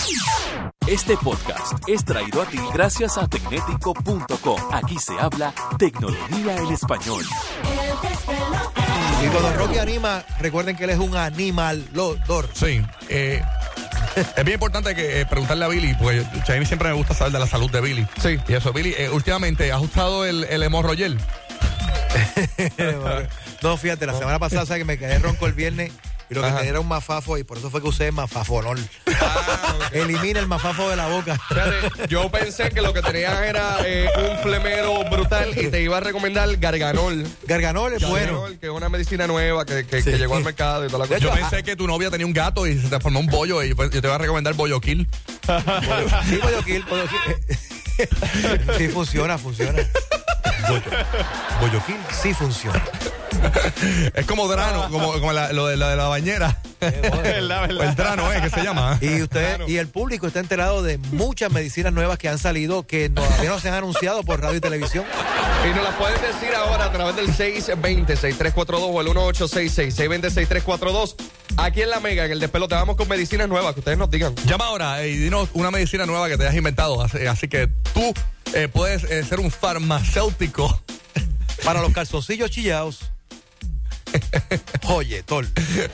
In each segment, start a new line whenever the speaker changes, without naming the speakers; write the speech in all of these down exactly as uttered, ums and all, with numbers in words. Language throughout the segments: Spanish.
Este podcast es traído a ti gracias a tecnético punto com. Aquí se habla tecnología en español.
Y cuando Rocky anima, recuerden que él es un animalodor.
Sí. Eh, es bien importante que eh, preguntarle a Billy, porque a mí siempre me gusta saber de la salud de Billy.
Sí.
Y eso, Billy, eh, últimamente, ¿has usado el, el hemorroyel?
No, fíjate, la semana pasada, ¿sabes? Que me quedé ronco el viernes y lo que
Ajá.
tenía era un mafafo y por eso fue que usé mafafonol.
Ah, okay.
Elimina el mafafo de la boca.
Fíjate, yo pensé que lo que tenías era eh, un flemero brutal y te iba a recomendar Garganol.
Garganol es bueno.
Garganol, que es una medicina nueva que, que,
Sí.
que llegó al mercado y toda la
De
cosa.
Yo
hecho,
pensé que tu novia tenía un gato y se te formó un bollo y pues, yo te voy a recomendar Bollo Kill.
Sí, pollo kill, pollo kill. Sí, funciona, funciona. Bollo, bollo kill sí funciona.
Es como Drano, como, como la, lo de la, de la bañera.
verdad,
O el Drano, ¿eh? Que se llama.
Y usted y el público está enterado de muchas medicinas nuevas que han salido que todavía no se han anunciado por radio y televisión.
Y nos las puedes decir ahora a través del seis dos cero, seis tres cuatro dos o el uno ocho seis seis, seis dos cero, seis tres cuatro dos. Aquí en La Mega, en el Despelote, vamos con medicinas nuevas, que ustedes nos digan.
Llama ahora eh, y dinos una medicina nueva que te hayas inventado. Así, así que tú eh, puedes eh, ser un farmacéutico.
Para los calzoncillos chillados. Oye, Tol.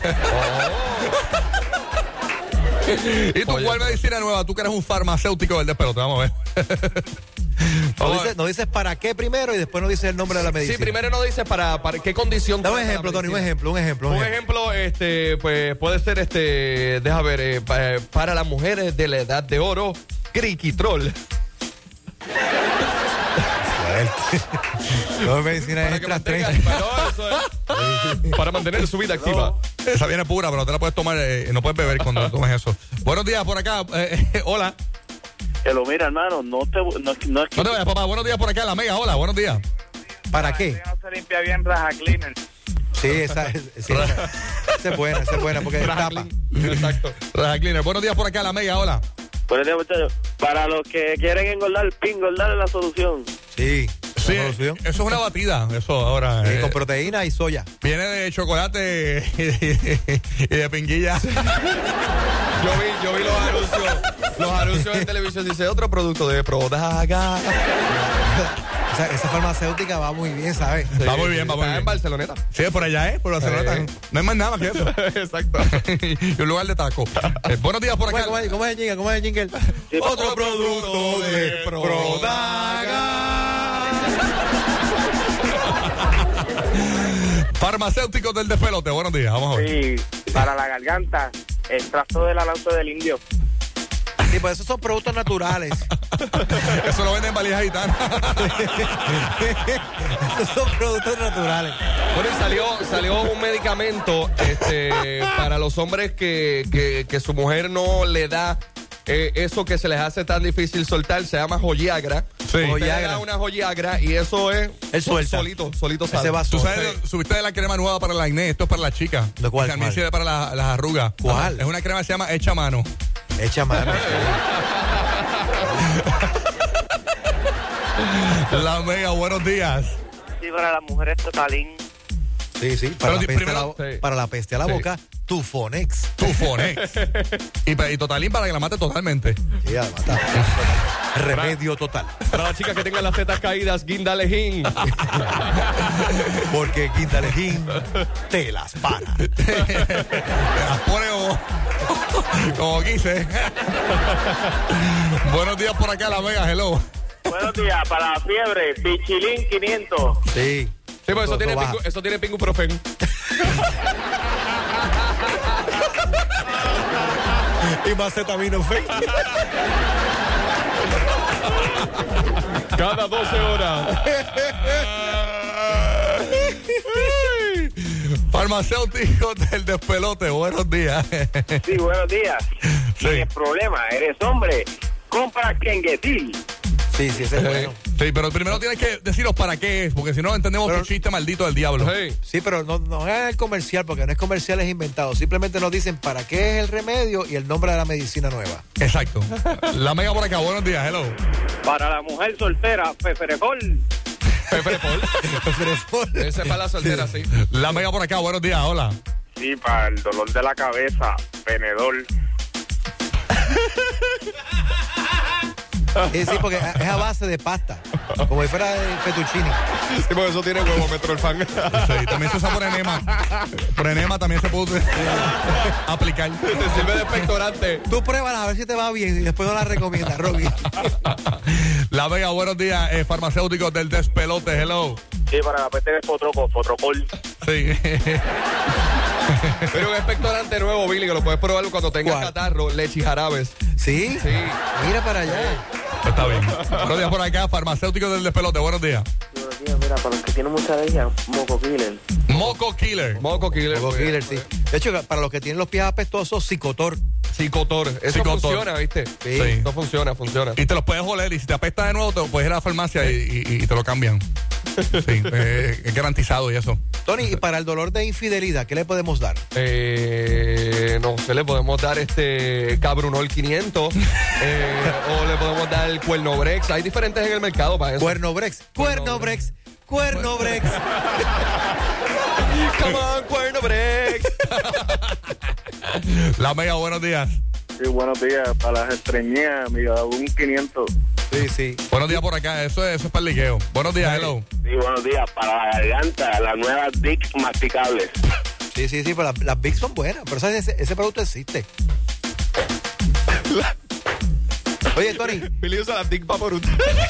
¿Y tú
Oye,
cuál medicina nueva? Tú que eres un farmacéutico del Despelote. Vamos a ver.
No
Vamos a
dices,
ver.
no dices para qué primero y después no dices el nombre de la medicina.
Sí, primero nos dice para, para qué condición.
Dame un
trata la
ejemplo, Tony, un
medicina.
ejemplo, un ejemplo. Un
Un
ejemplo.
ejemplo, este, pues puede ser este, deja ver, eh, pa- para las mujeres de la edad de oro, Criquitrol.
No, medicina
Para que
extra
mantenga-
tres.
no, eso es. Para mantener su vida activa.
Esa viene pura, pero no te la puedes tomar, eh, no puedes beber cuando tomes eso. Buenos días por acá. eh, eh, hola.
Que lo mira, hermano, no te no, no es que
No te vayas, papá. Buenos días por acá, La Mega. Hola, buenos días.
¿Para qué?
no se limpia bien Raja Cleaner.
Sí, esa, es- sí, esa, esa es buena, esa es buena porque tapa.
Exacto.
Raja Cleaner. Buenos días por acá, La Mega. Hola.
Buenos días, muchachos. Para los que quieren engordar, engordar es la solución.
Sí,
Sí,
¿la solución?
eso es una batida. Eso ahora.
Sí,
eh,
con proteína y soya.
viene de chocolate y de, y de pinguilla.
Yo vi, yo vi los anuncios, los anuncios en televisión, dice otro producto de Prodaga.
Esa, esa farmacéutica va muy bien, ¿sabes?
Va muy bien, va muy
Está en
bien.
Barceloneta.
Sí, por allá, ¿eh? Por Barcelona.
Sí.
No hay más nada que eso.
Exacto.
Y un lugar de taco. Eh, buenos días por
¿Cómo
acá.
es, cómo es- cómo es el jingle? ¿Cómo es el jingle? Otro producto de Prodaga.
Farmacéuticos del Despelote. Buenos días. Vamos a ver.
Sí, para la garganta, extracto de la lanza del indio.
Sí, pues esos son productos naturales.
Eso lo venden en valijas gitanas.
Esos son productos naturales.
Bueno, y salió, salió un medicamento este, para los hombres que, que, que su mujer no le da eh, eso que se les hace tan difícil soltar. Se llama Joyagra.
Sí.
Usted le
Joyagra.
da una Joyagra y eso es
Él suelta.
solito, solito sale.
Ese va
Tú
solo.
sabes, subiste de la crema nueva para la acné. Esto es para la chica.
¿De cuál,
También
cuál?
sirve para la- las arrugas.
¿Cuál?
Es una crema que se llama Hecha a Mano.
Echa mano.
La Mega, buenos días.
Sí, para las mujeres totalín.
Sí, sí. Para,
Pero
la
di-
peste,
primero-
a la,
sí.
para la peste a la
Sí.
boca, Tufonex.
Tufonex. y, pe- y Totalín para que la mate totalmente.
Sí, ya, mata. Remedio total.
Para las chicas que tengan las tetas caídas, Guindalejín.
Porque Quintalejín te las para.
Te las pone como, como quise. Buenos días por acá, La Mega. Hello.
Buenos días, para la fiebre, Pichilín quinientos.
Sí.
Sí, pues eso
Todo
tiene,
baja.
pingu, eso tiene pinguprofen.
Y macetaminofen.
Cada doce horas.
Farmacéutico del Despelote, buenos días.
Sí, buenos días.
Sí.
El problema, eres hombre, compra Kengetil.
Sí, sí, ese es bueno.
Sí, pero primero tienes que deciros para qué es, porque si no entendemos
Pero-
tu chiste maldito del diablo.
Hey.
Sí, pero no, no hagan el comercial, porque no es comercial, es inventado. Simplemente nos dicen para qué es el remedio y el nombre de la medicina nueva.
Exacto. La Mega por acá, buenos días, hello.
Para la mujer soltera, Feferefol.
Peferepol. Ese es para la soltera, sí.
La Mega por acá, buenos días, hola.
Sí, para el dolor de la cabeza, Penedol.
Sí, sí, porque es a base de pasta. Como si fuera de fettuccine.
Sí, porque eso tiene huevo, Metro el fan.
Sí, también se usa por enema. Por enema también se puede eh, aplicar.
Te sirve de expectorante.
Tú pruébala a ver si te va bien y después no la recomiendas, Rocky.
La Vega, buenos días, eh, farmacéuticos del despelote, hello.
Sí, para la peste del fotroco, fotrocol.
Sí.
Pero un expectorante nuevo, Billy, que lo puedes probar cuando tengas
¿Cuál?
catarro, leche y jarabes.
¿Sí?
Sí.
Mira para allá.
Está bien. Buenos días por acá, farmacéuticos del despelote, buenos días.
Buenos días, mira, para los que tienen mucha alergia, Moco Killer.
Moco Killer.
Moco Killer.
Moco Killer, sí. De hecho, para los que tienen los pies apestosos, Cicotor.
Psicotor. Eso
Psicotor.
funciona, ¿viste?
Sí.
Sí.
No funciona, funciona.
Y te los puedes oler y si te apesta de nuevo, te puedes ir a la farmacia y, y- y te lo cambian. Sí, eh, es garantizado y eso.
Tony, y para el dolor de infidelidad, ¿qué le podemos dar?
Eh, no sé, le podemos dar este Cabrunol quinientos eh, o le podemos dar el Cuernobrex. Hay diferentes en el mercado para eso.
Cuernobrex. Cuernobrex. Cuernobrex.
Come on, Cuernobrex.
La Mega, buenos días.
Sí, buenos días. Para las estreñidas, amiga, un quinientos.
Sí, sí.
Buenos días por acá, eso es, eso es para el liqueo. Buenos días, hello.
Sí, buenos días. Para la garganta, las nuevas Dick masticables.
Sí, sí, sí, pero las, las Big son buenas, pero ¿sabes? Ese, ese producto existe. Oye, Tony,
Billy usa la Dick Vaporut.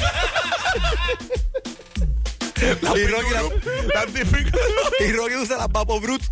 y Rocky, la-
La típica-
y Rocky usa las Papo Brut.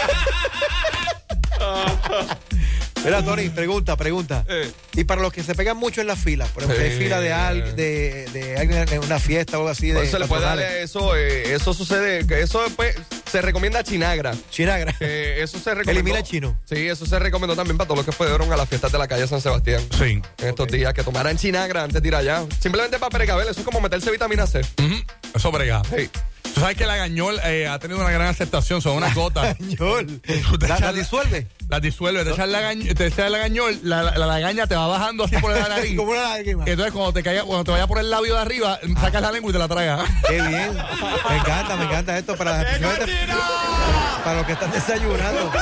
Mira, Tony, pregunta, pregunta.
Eh.
Y para los que se pegan mucho en las filas, por ejemplo, hay
Sí.
fila de, al, de, de alguien en una fiesta o algo así.
Por
De
eso le puede
patronales.
darle eso, eh, eso sucede, que eso después se recomienda Chinagra.
Chinagra.
Que eso se recomendó.
Elimina el chino.
Sí, eso se recomendó también para todos los que fueron a las fiestas de la calle San Sebastián.
Sí.
En estos días, que tomaran Chinagra antes de ir allá. Simplemente para precaver, eso es como meterse vitamina C.
Ujú, eso brega.
Sí.
Tú sabes que la gañol eh, ha tenido una gran aceptación, son unas gotas.
Gañol.
Te
¿La,
echas
la disuelve?
Las disuelve, te echas la, gañ- te echas la gañol, la, la, la lagaña te va bajando así por la nariz.
Como una lágrima.
Entonces cuando te caiga, cuando te vaya por el labio de arriba, sacas la lengua y te la tragas.
Qué bien. Me encanta, me encanta esto para, para los que están desayunando.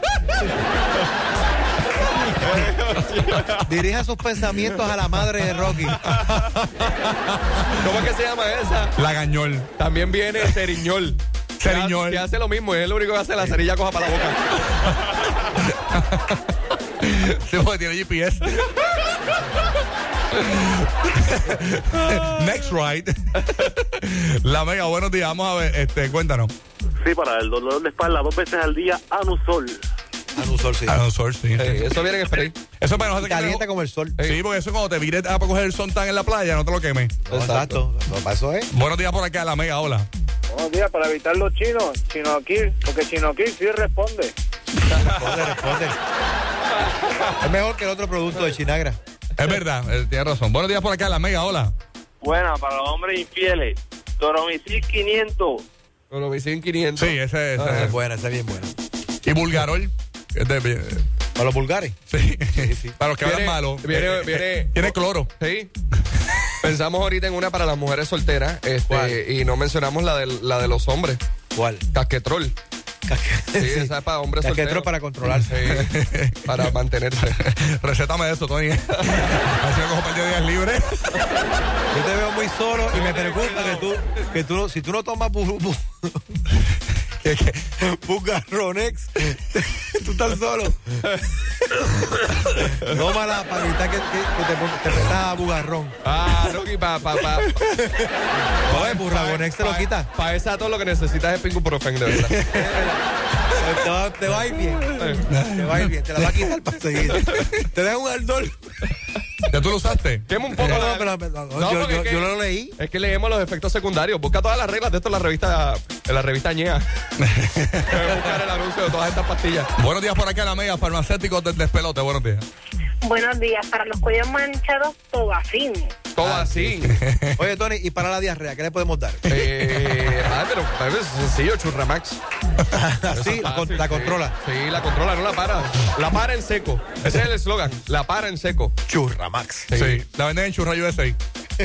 Dirija sus pensamientos a la madre de Rocky.
¿Cómo es que se llama esa?
La gañol.
También viene Ceriñol.
Ceriñol.
Que hace, que hace lo mismo, es lo único que hace la cerilla coja para la boca.
Sí, porque tiene G P S. Next right. La Mega, buenos días. Vamos a ver, este, cuéntanos.
Sí, para el dolor de espalda, dos veces al día, Anusol.
Anusol, sí.
Ah, no, sol, sí.
Eh, eso viene en spray.
Eso es para nosotros que
Calienta
tenemos-
como el sol.
Sí, porque eso cuando te vires a coger el son tan en la playa, no te lo quemes.
No, exacto. No, para eso es.
Buenos días por acá, La Mega, hola.
Buenos días, para evitar los chinos, Chino Kill, porque Chino Kill sí responde.
Responde, responde. Es mejor que el otro producto de Chinagra.
Es verdad, eh, tienes razón. Buenos días por acá, La Mega, hola.
Buena, para los hombres infieles, Toromicil quinientos.
Con los Vicin quinientos.
Sí, ese, ese.
Esa es buena, esa es bien buena.
Y Bulgarol. que es de-
Para los vulgares.
sí. Para los que
Viene-
hablan malo.
viene-
Eh,
viene-
Tiene cloro.
Sí. Pensamos ahorita en una para las mujeres solteras, este,
¿Cuál?
y no mencionamos la de, la de los hombres.
¿Cuál?
Casquetrol. Sí,
Sí.
esa es para hombres
Casquetrol
solteros.
para controlarse.
Sí, para mantenerse.
Recétame eso, Tony. Así me cojo un par de días libres.
Yo te veo muy solo y me preocupa que tú, que tú no- si tú no tomas bu, bu,
Que- que-
Bugarronex, tú estás solo. Tómala para evitar que, que, que te, pon- te metas a bugarrón.
Ah, Rocky, para pa, pa,
Oye, Burragonex te lo quita.
Para esa todo lo que necesitas es Pinguprofen, de verdad.
Te va, te va a ir bien. Te va a ir bien. Te la va a quitar para seguir. Te deja un ardor.
¿Ya tú lo usaste?
Quema un poco.
No,
la-
no, pero, pero, no,
No,
yo,
porque
yo-
es que-
yo lo leí.
Es que leemos los efectos secundarios. Busca todas las reglas de esto en la revista, en la revista Ñea. Buscar el anuncio de todas estas pastillas.
Buenos días por acá, La Mega, farmacéuticos del despelote. Buenos días.
Buenos días. Para los cuellos manchados, Tobacin.
Todo así.
Oye, Tony, y para la diarrea, ¿qué le podemos dar?
Eh, ah, pero pero es sencillo, Churramax.
Así, la, con- la controla.
Sí, la controla, no la para. La para en seco. Ese es el eslogan. La para en seco.
Churramax.
Sí. La venden en Churra U S A.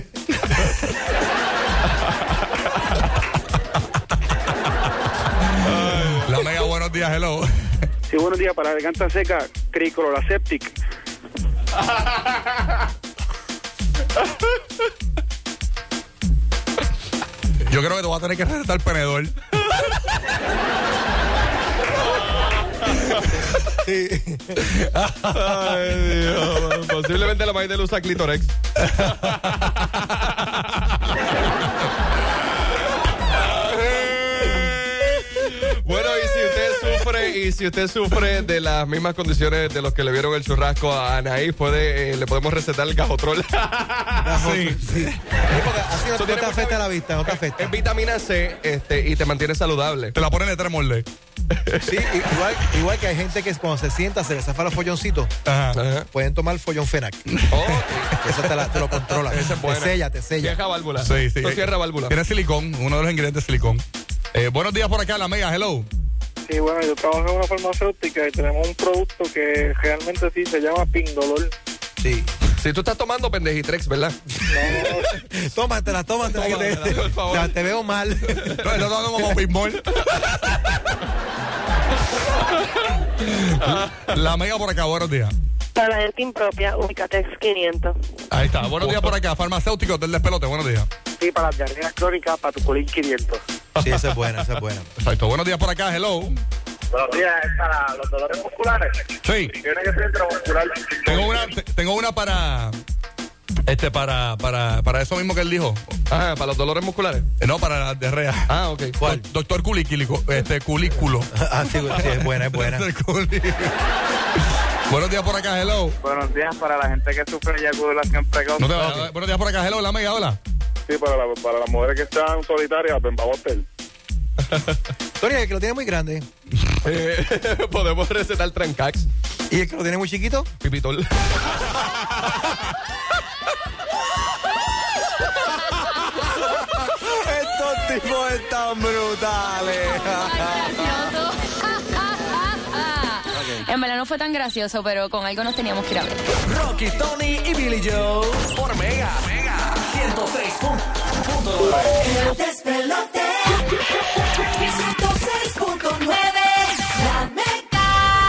La Mega, buenos días, hello.
Sí, buenos días, para la garganta seca, Cricloraseptic.
creo que te voy a tener que recetar penedor.
Sí.
Ay, Dios. Posiblemente la Maite usa Clitorex. Bueno, y si usted sufre y si usted sufre de las mismas condiciones de los que le vieron el churrasco a Anaí, puede, eh, le podemos recetar el gajotrol.
Sí, sí. Sí, porque así no, no te afecta la vista, no te afecta.
Es vitamina C este, y te mantiene saludable.
Te la ponen de tres moldes.
Sí, igual, igual que hay gente que cuando se sienta se le zafa los folloncitos.
Ajá.
Ajá.
Pueden tomar follón Fenac.
Oh,
Eso te, la, te lo controla.
Esa es buena.
Te sella, te sella.
Cierra válvula.
Sí, sí.
Esto cierra válvula.
Tiene silicón, uno de los ingredientes es silicón. Eh, buenos días por acá, la Mega, hello.
Sí, bueno, yo trabajo en una farmacéutica y tenemos un producto que realmente sí se llama Pindolol.
Sí.
Si tú estás tomando pendejitrex, ¿verdad?
No,
Tómatela, tómatela, que te,
Tómatela, por favor.
te, te veo mal.
No, está tomando como Bismol. La Mega por acá, buenos días.
Para la gente impropia, Ubicatex quinientos.
Ahí está, buenos días por acá, farmacéutico del despelote, buenos días.
sí, para las diarreas crónicas, Patuculín quinientos.
Sí, esa es buena, esa es buena.
Exacto, buenos días por acá, hello.
Buenos días, es para los dolores musculares.
Sí,
Tiene que ser intramuscular.
tengo una, te- tengo una para, este, para, para, para eso mismo que él dijo.
Ajá, para los dolores musculares.
Eh, No, para la diarrea.
Ah, ok.
¿Cuál? Doctor Culículo, este, culículo.
Ah, sí, sí, es buena, es buena.
Doctor Culículo. Buenos días por acá, hello.
Buenos días para la gente que sufre de eyaculación precoz.
No te vayas. Buenos días por acá, hello, la Mega, hola.
Sí, para, la, para las mujeres que están solitarias, Bembabotel.
Tony, el que lo tiene muy grande.
Eh, podemos recetar Trancax,
¿Y el que lo tiene muy chiquito?
Pipitol.
Estos tipos están brutales.
En verdad no fue tan gracioso, pero con algo nos teníamos que ir a ver.
Rocky, Tony y Billy Joe por Mega. Mega ciento seis punto nueve.
El despelote. ciento seis punto nueve. La Mega.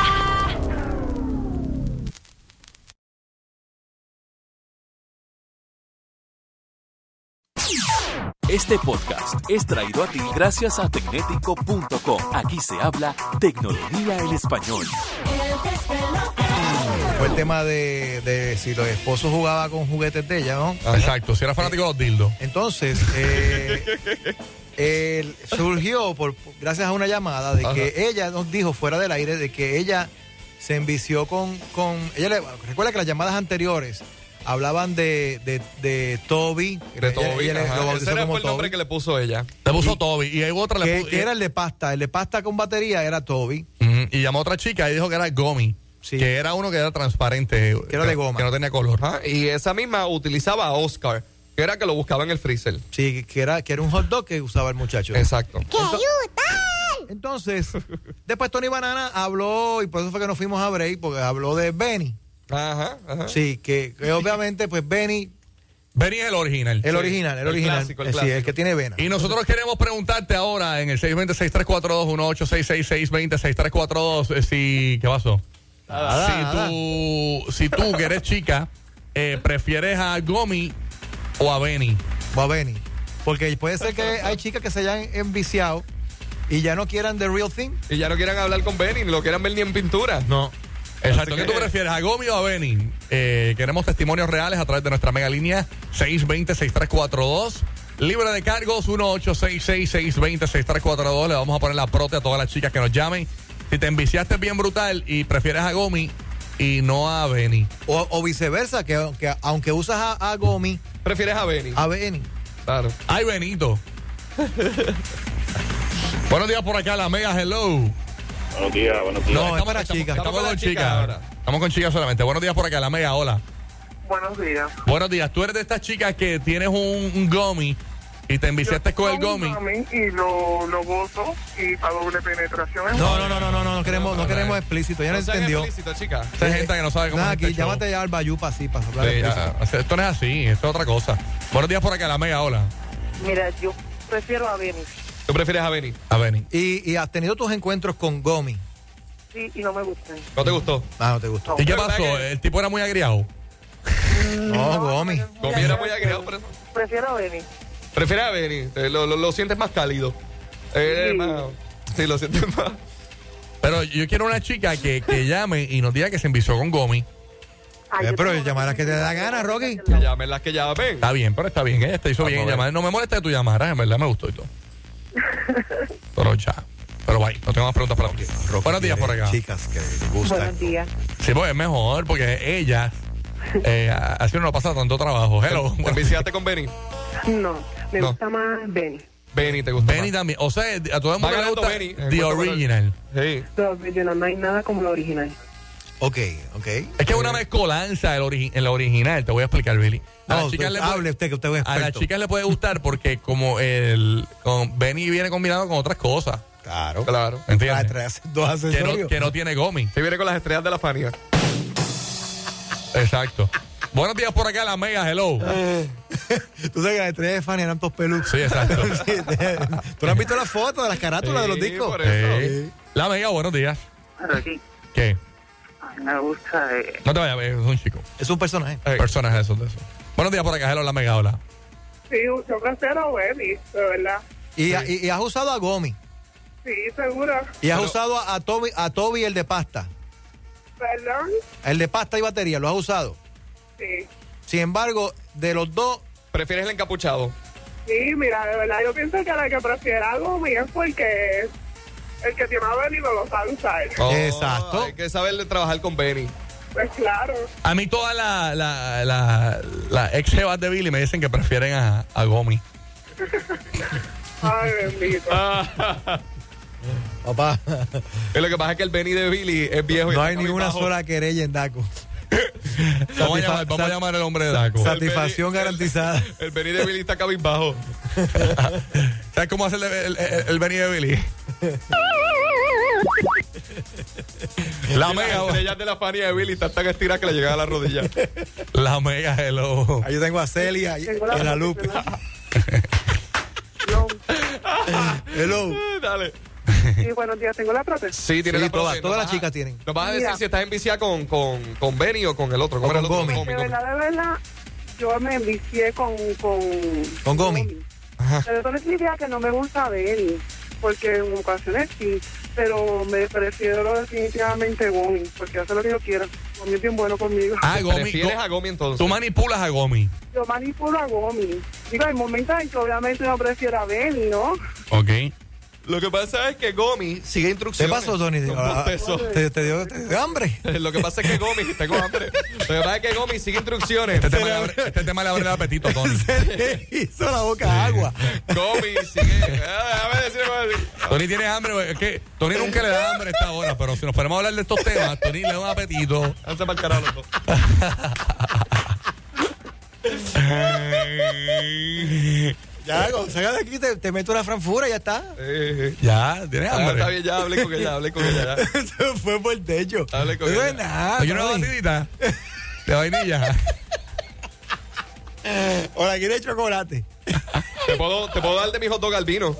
Este podcast es traído a ti gracias a tecnético punto com. Aquí se habla tecnología en español.
El despelote.
Fue el tema de, de si los esposos jugaban con juguetes de ella, ¿no?
Exacto, si era fanático de los dildos.
Entonces, eh, él surgió por, gracias a una llamada de
Ajá.
que ella nos dijo fuera del aire de que ella se envició con, con ella le, recuerda que las llamadas anteriores hablaban de, de, de Toby,
De
ella-
Toby.
ella le-
Ajá.
lo bautizó
Ese era
como
fue el nombre
Toby,
que le puso ella.
Le puso Toby y hay otra le
que,
puso,
que era el de pasta, el de pasta con batería era Toby.
Ujú, y llamó a otra chica y dijo que era Gomi.
Sí.
Que era uno que era transparente.
Que era de goma.
Que no tenía color.
Ajá, y esa misma utilizaba a Oscar, que era que lo buscaba en el freezer.
Sí, que era, que era un hot dog que usaba el muchacho.
Exacto.
Entonces, después Tony Banana habló, y por eso fue que nos fuimos a break, porque habló de Benny.
Ajá, ajá.
Sí, que, que obviamente, pues Benny,
Benny es el original.
el
Sí,
original, el,
el
original.
clásico, el
Eh, sí,
clásico.
el que tiene vena.
Y nosotros queremos preguntarte ahora en el seis dos cero, seis tres cuatro dos, uno ocho seis seis, seis dos cero, seis tres cuatro dos eh, si... ¿Qué pasó?
Nada,
si,
nada.
tú, si tú, que eres chica, eh, prefieres a Gomi o a Benny.
O a Benny. Porque puede ser que hay chicas que se hayan enviciado y ya no quieran the real thing.
Y ya no quieran hablar con Benny, ni lo quieran ver ni en pintura.
No.
Exacto.
Así
¿Qué
que-
tú prefieres, a Gomi o a Benny? Eh, queremos testimonios reales a través de nuestra mega línea seis dos cero, seis tres cuatro dos. Libre de cargos, uno ocho seis seis, seis dos cero, seis tres cuatro dos. Le vamos a poner la prote a todas las chicas que nos llamen. Si te enviciaste bien brutal y prefieres a Gomi y no a Benny.
O, o viceversa, que, que aunque usas a, a Gomi,
¿Prefieres a Benny?
a Benny.
Claro.
Ay, Benito. Buenos días por acá, la mega, hello.
Buenos días, buenos días.
No,
estamos,
para
estamos-
chicas.
estamos
Estamos
con
con
chicas
chicas ahora.
Estamos con chicas solamente. Buenos días por acá, la mega, hola.
Buenos días.
Buenos días. Tú eres de estas chicas que tienes un, un Gomi y te enviciaste con el Gomi.
Y lo, lo gozo y para doble penetración.
No, no, no, no, no, no, no queremos, no queremos explícito. Ya no,
sean
entendió.
explícitos, chica.
Hay gente que no sabe cómo
Nada,
es
aquí,
este show.
llámate ya al Bayupa así para hablar
Sí,
explícito.
ya, esto no es así, esto es otra cosa. Buenos días por acá, la mega, hola.
Mira, yo prefiero a Benny.
¿Tú prefieres a Benny?
A Benny.
Y, y has tenido tus encuentros con Gomi.
Sí, y no me gustan.
¿No te gustó?
Ah, no te gustó.
¿Y qué
¿verdad
pasó?
que-
¿El tipo era muy agriado?
No, Gomi.
Gomi era muy agregado por eso.
Prefiero a Benny.
Prefieres a Benny, eh, lo, lo, lo sientes más cálido. Eh,
Sí.
más, sí, lo sientes más.
Pero yo quiero una chica que, que llame y nos diga que se envició con Gomi.
Ay,
Eh,
yo
pero
tengo
llamarás
una
que te da
amiga
gana, Rocky.
Que llamen las que llamen.
Está bien, pero está bien. Ella te hizo
Vamos
bien
a
en
ver.
llamar. No me molesta que tú llamaras, en verdad me gustó y todo. Pero ya. Pero bye, no tengo más preguntas para ti.
Rocky
Buenos días por
quiere
acá.
Chicas que le gustan.
Buenos días.
Sí, pues es mejor porque ella eh, así no nos pasa tanto trabajo. Hello.
¿Te
Bueno,
enviciaste con Benny?
No, me
No.
gusta más Benny.
Benny, ¿te gusta
Benny
más?
también. O sea, a todo el
Va
mundo le
ganando
gusta
Benny.
The
Encuentro
Original.
Sí.
Lo original, no hay nada como lo original.
Ok, ok.
Es que es una mezcolanza del ori- en la original. Te voy a explicar, Billy. A
No,
las chicas
usted-
le puede-
hable usted, que usted es
A las
experto.
chicas le puede gustar porque como el con Benny viene combinado con otras cosas.
Claro.
Claro.
Ah,
¿Entiendes?
traes dos
Que no,
accesorios.
que no tiene Gomi.
Se viene con las estrellas de la Fania.
Exacto. Buenos días por acá, la mega, hello.
Tú sabes que las estrellas de Fanny eran todos peludos.
Sí, exacto.
Sí, te- ¿Tú no has visto las fotos de las carátulas de los
Sí,
discos?
por eso.
Sí. La mega, buenos días.
Aquí,
¿Qué?
a mí me gusta. Eh,
No te vayas, es un chico.
Es un personaje.
Hey.
Personas de esos, de esos. Buenos días por acá, hello, la mega, hola.
Sí, yo prefiero a Benny, de verdad.
Y, y- y has usado a Gomi.
Sí, seguro.
Y has
Pero-
usado a, a Toby, a Toby el de pasta.
¿Perdón?
El de pasta y batería, ¿lo has usado?
Sí.
Sin embargo, de los dos,
¿Prefieres el encapuchado?
Sí, mira, de verdad, yo pienso que la que prefiera algo mío es porque el que tiene a Benny no lo sabe usar.
Exacto.
Hay que saber trabajar con Benny.
Pues claro.
A mí todas las la, la, la ex jevas de Billy me dicen que prefieren a, a Gomi.
Ay, bendito.
papá,
Y lo que pasa es que el Benny de Billy es viejo. y
no
está
hay ni una
cabizbajo.
sola querella en Daco.
Vamos a llamar, vamos a llamar al hombre de Daco.
Satisfacción garantizada.
El Benny de Billy está cabizbajo.
¿Sabes cómo hace el, el, el, el Benny de Billy? La
Y las
mega,
estrellas de la Fania de Billy están tan estiradas que le llegan a la rodilla.
la mega, hello.
Ahí yo tengo a Celia y,
Tengo la
y a la
foto,
Lupe.
¿verdad? No.
Hello.
Dale.
Sí, buenos días, tengo la prótesis.
Sí, tiene
Sí,
la
todas,
prótesis.
todas
Nos
las
vas a-
chicas tienen.
Nos vas a decir
Mira.
si estás enviciada con, con, con Benny o con el otro. ¿Cómo
O
era el
con
otro?
Gomi.
De verdad, de verdad, yo me envicié con... Con,
Con Gomi.
Pero eso no significa que no me gusta Benny, porque en ocasiones sí, pero me prefiero definitivamente Gomi, porque hace lo que yo quiero. Gomi es bien bueno conmigo.
Ah, Gomi.
¿Prefieres
Go-
a Gomi entonces?
Tú manipulas a Gomi.
Yo manipulo a Gomi. Digo, hay momentos en que obviamente no prefiero a Benny, ¿no?
Ok.
Lo que pasa es que Gomi sigue
¿Qué
instrucciones.
pasó, Tony?
Con
Ah,
bostezo.
¿Te, te dio, te dio hambre?
Lo que pasa es que Gomi, tengo hambre. Lo que pasa es que Gomi sigue instrucciones.
Este tema, le abre, este tema le abre el apetito, Tony.
Se le hizo la boca agua.
Gomi sigue. Ah, déjame decir, déjame decir.
Tony tiene hambre, güey. Es que Tony nunca le da hambre a esta hora, pero si nos ponemos a hablar de estos temas, Tony le da un apetito.
Hazte para el carajo, los dos.
Ya, Gonzaga de aquí te, te meto una franfura y ya está.
Eh,
Ya, tiene
ah,
hambre.
está bien, ya hablé con ella, hablé con ella. Ya.
Se fue por el techo.
Hable con
No
ella.
es nada.
¿No quiere una
Tony.
batidita de vainilla?
O la quiere chocolate.
¿Te puedo, te puedo dar de mi hot dog al vino.